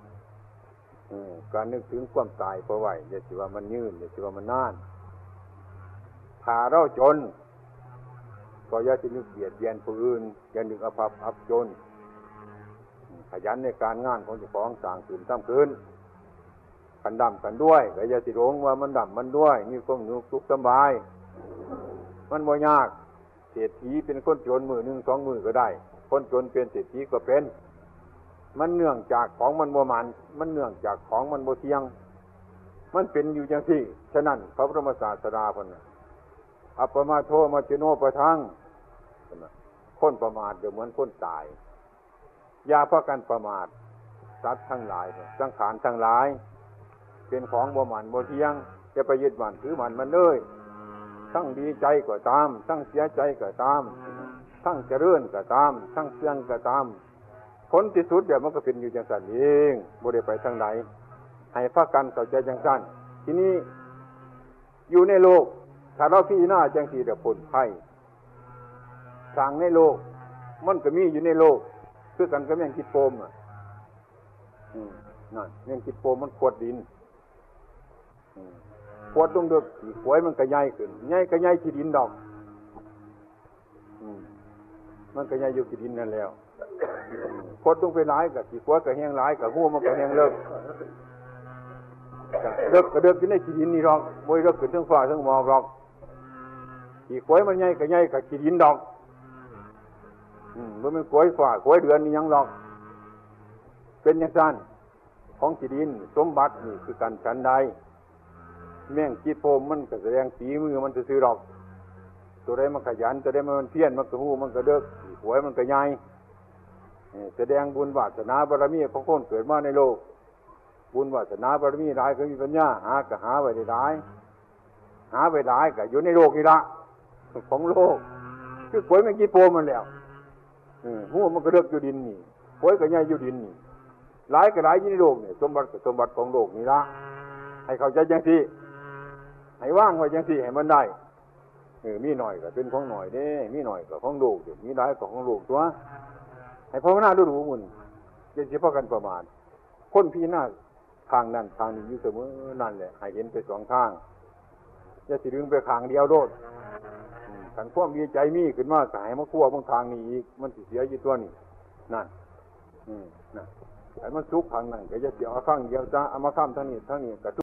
S3: การนึกถึงความตายเอาไว้อย่าสิว่ามันยืนอย่าสิว่ามันนานถ้าเราจนก็อย่าสินึกเบียดเบียนผู้อื่นอย่านึกอภัพอับจนขยันในการงานของเจ้าของสร้างขึ้นทำขึ้นกันดำกันด้วยก็อย่าสิหลงว่ามันดำมันด้วยมีความสุขสบายมันบ่ยากเศรษฐีเป็นคนจนมือหนึ่งสองมือก็ได้คนจนเป็นเศรษฐีก็เป็นมันเนื่องจากของมันบ่มันเนื่องจากของมันบ่เที่ยงมันเป็นอยู่จังซี่ฉะนั้นพระบรมศาสดาเพิ่นอัปปมาโทมัจฉิโนปะทังคนประมาทเดี๋ยวเหมือนคนตายอย่าพากันประมาทสัตว์ทั้งหลายสังขารทั้งหลายเป็นของบ่มันบ่เที่ยงจะไปยึดมั่นถือมันเลยทั้งดีใจก็ตามทั้งเสียใจก็ตามทั้งเจริญก็ตามทั้งเสื่อมก็ตามผลที่สุดเดี๋ยวมันก็เป็นอยู่จังซั่นเองบ่ได้ไปทางไหนให้พากันเข้าใจจังซั่นทีนี้อยู่ในโลกถ้าเราพิจารณาจังซี่เดี๋ยวพ้นภัยทางในโลกมันก็มีอยู่ในโลกคือกันกับแมงกิดโปมนั่นแมงกิดโปมมันขวดดินขวดตรงเดือกขี้ขวยมันก็ใหญ่ขึ้นใหญ่ก็ใหญ่ขี้ดินดอกมันก็ใหญ่อยู่ขี้ดินนั่นแล้วขวดตรงไปหลายกับขี้ขวยก็แห้งหลายกับหัวมันก็แห้งเลิกก็เดือกอยู่ในขี้ดินนี่หรอกบ่ได้เลิกขึ้นทั้งฟ้าทั้งหมอกหรอกขี้ขวยมันใหญ่ก็ใหญ่กับขี้ดินดอกมันเป็นขวยฟ้าขวยเดือนนี่ยังหรอกเป็นอย่างนั้นของขี้ดินสมบัตินี่คือกันฉันใดแม่งจีโปมมันก็แสดงฝีมือมันซื่อๆดอกตัวใดมันขยันตัวใดมันเพี้ยนมันก็หู้มันก็เด้อหวยมันก็ใหญ่แสดงบุญวาสนาบารมีของคนเกิดมาในโลกบุญวาสนาบารมีหลายก็มีปัญญาหาก็หาไว้ได้หลายหาไว้หลายก็อยู่ในโลกนี่ละของโลกคือหวยแม่งจีโปมมันแล้วหู้มันก็เด้ออยู่ดินนี่หวยก็ใหญ่อยู่ดินนี่หลายก็หลายอยู่ในโลกนี่สมบัติก็สมบัติของโลกนี่ละให้เข้าใจจังซี่ให้ว่างไว้จังซี่ให้มันได้มีหน่อยก็เป็นของหน่อยเด้มีหน่อยก็ของโลกเดี๋ยวมีหลายก็ของโลกตัวให้ภาวนาดูมุ่นอย่าสิพากันประมาทคนพี่หน้าทางนั้นทางนี้อยู่เสมอนั่นแหละให้เห็นไปสองทางอย่าสิดึงไปทางเดียวโดดคันความดีใจมีขึ้นมาก็ให้มาคั่วบางทางนี้อีกมันสิเสียอยู่ตัวนี้นั่นนั่นให้มันสุขทางนั้นก็อย่าสิเอาข้างเดียวซะเอามาข้ามทางนี้ก็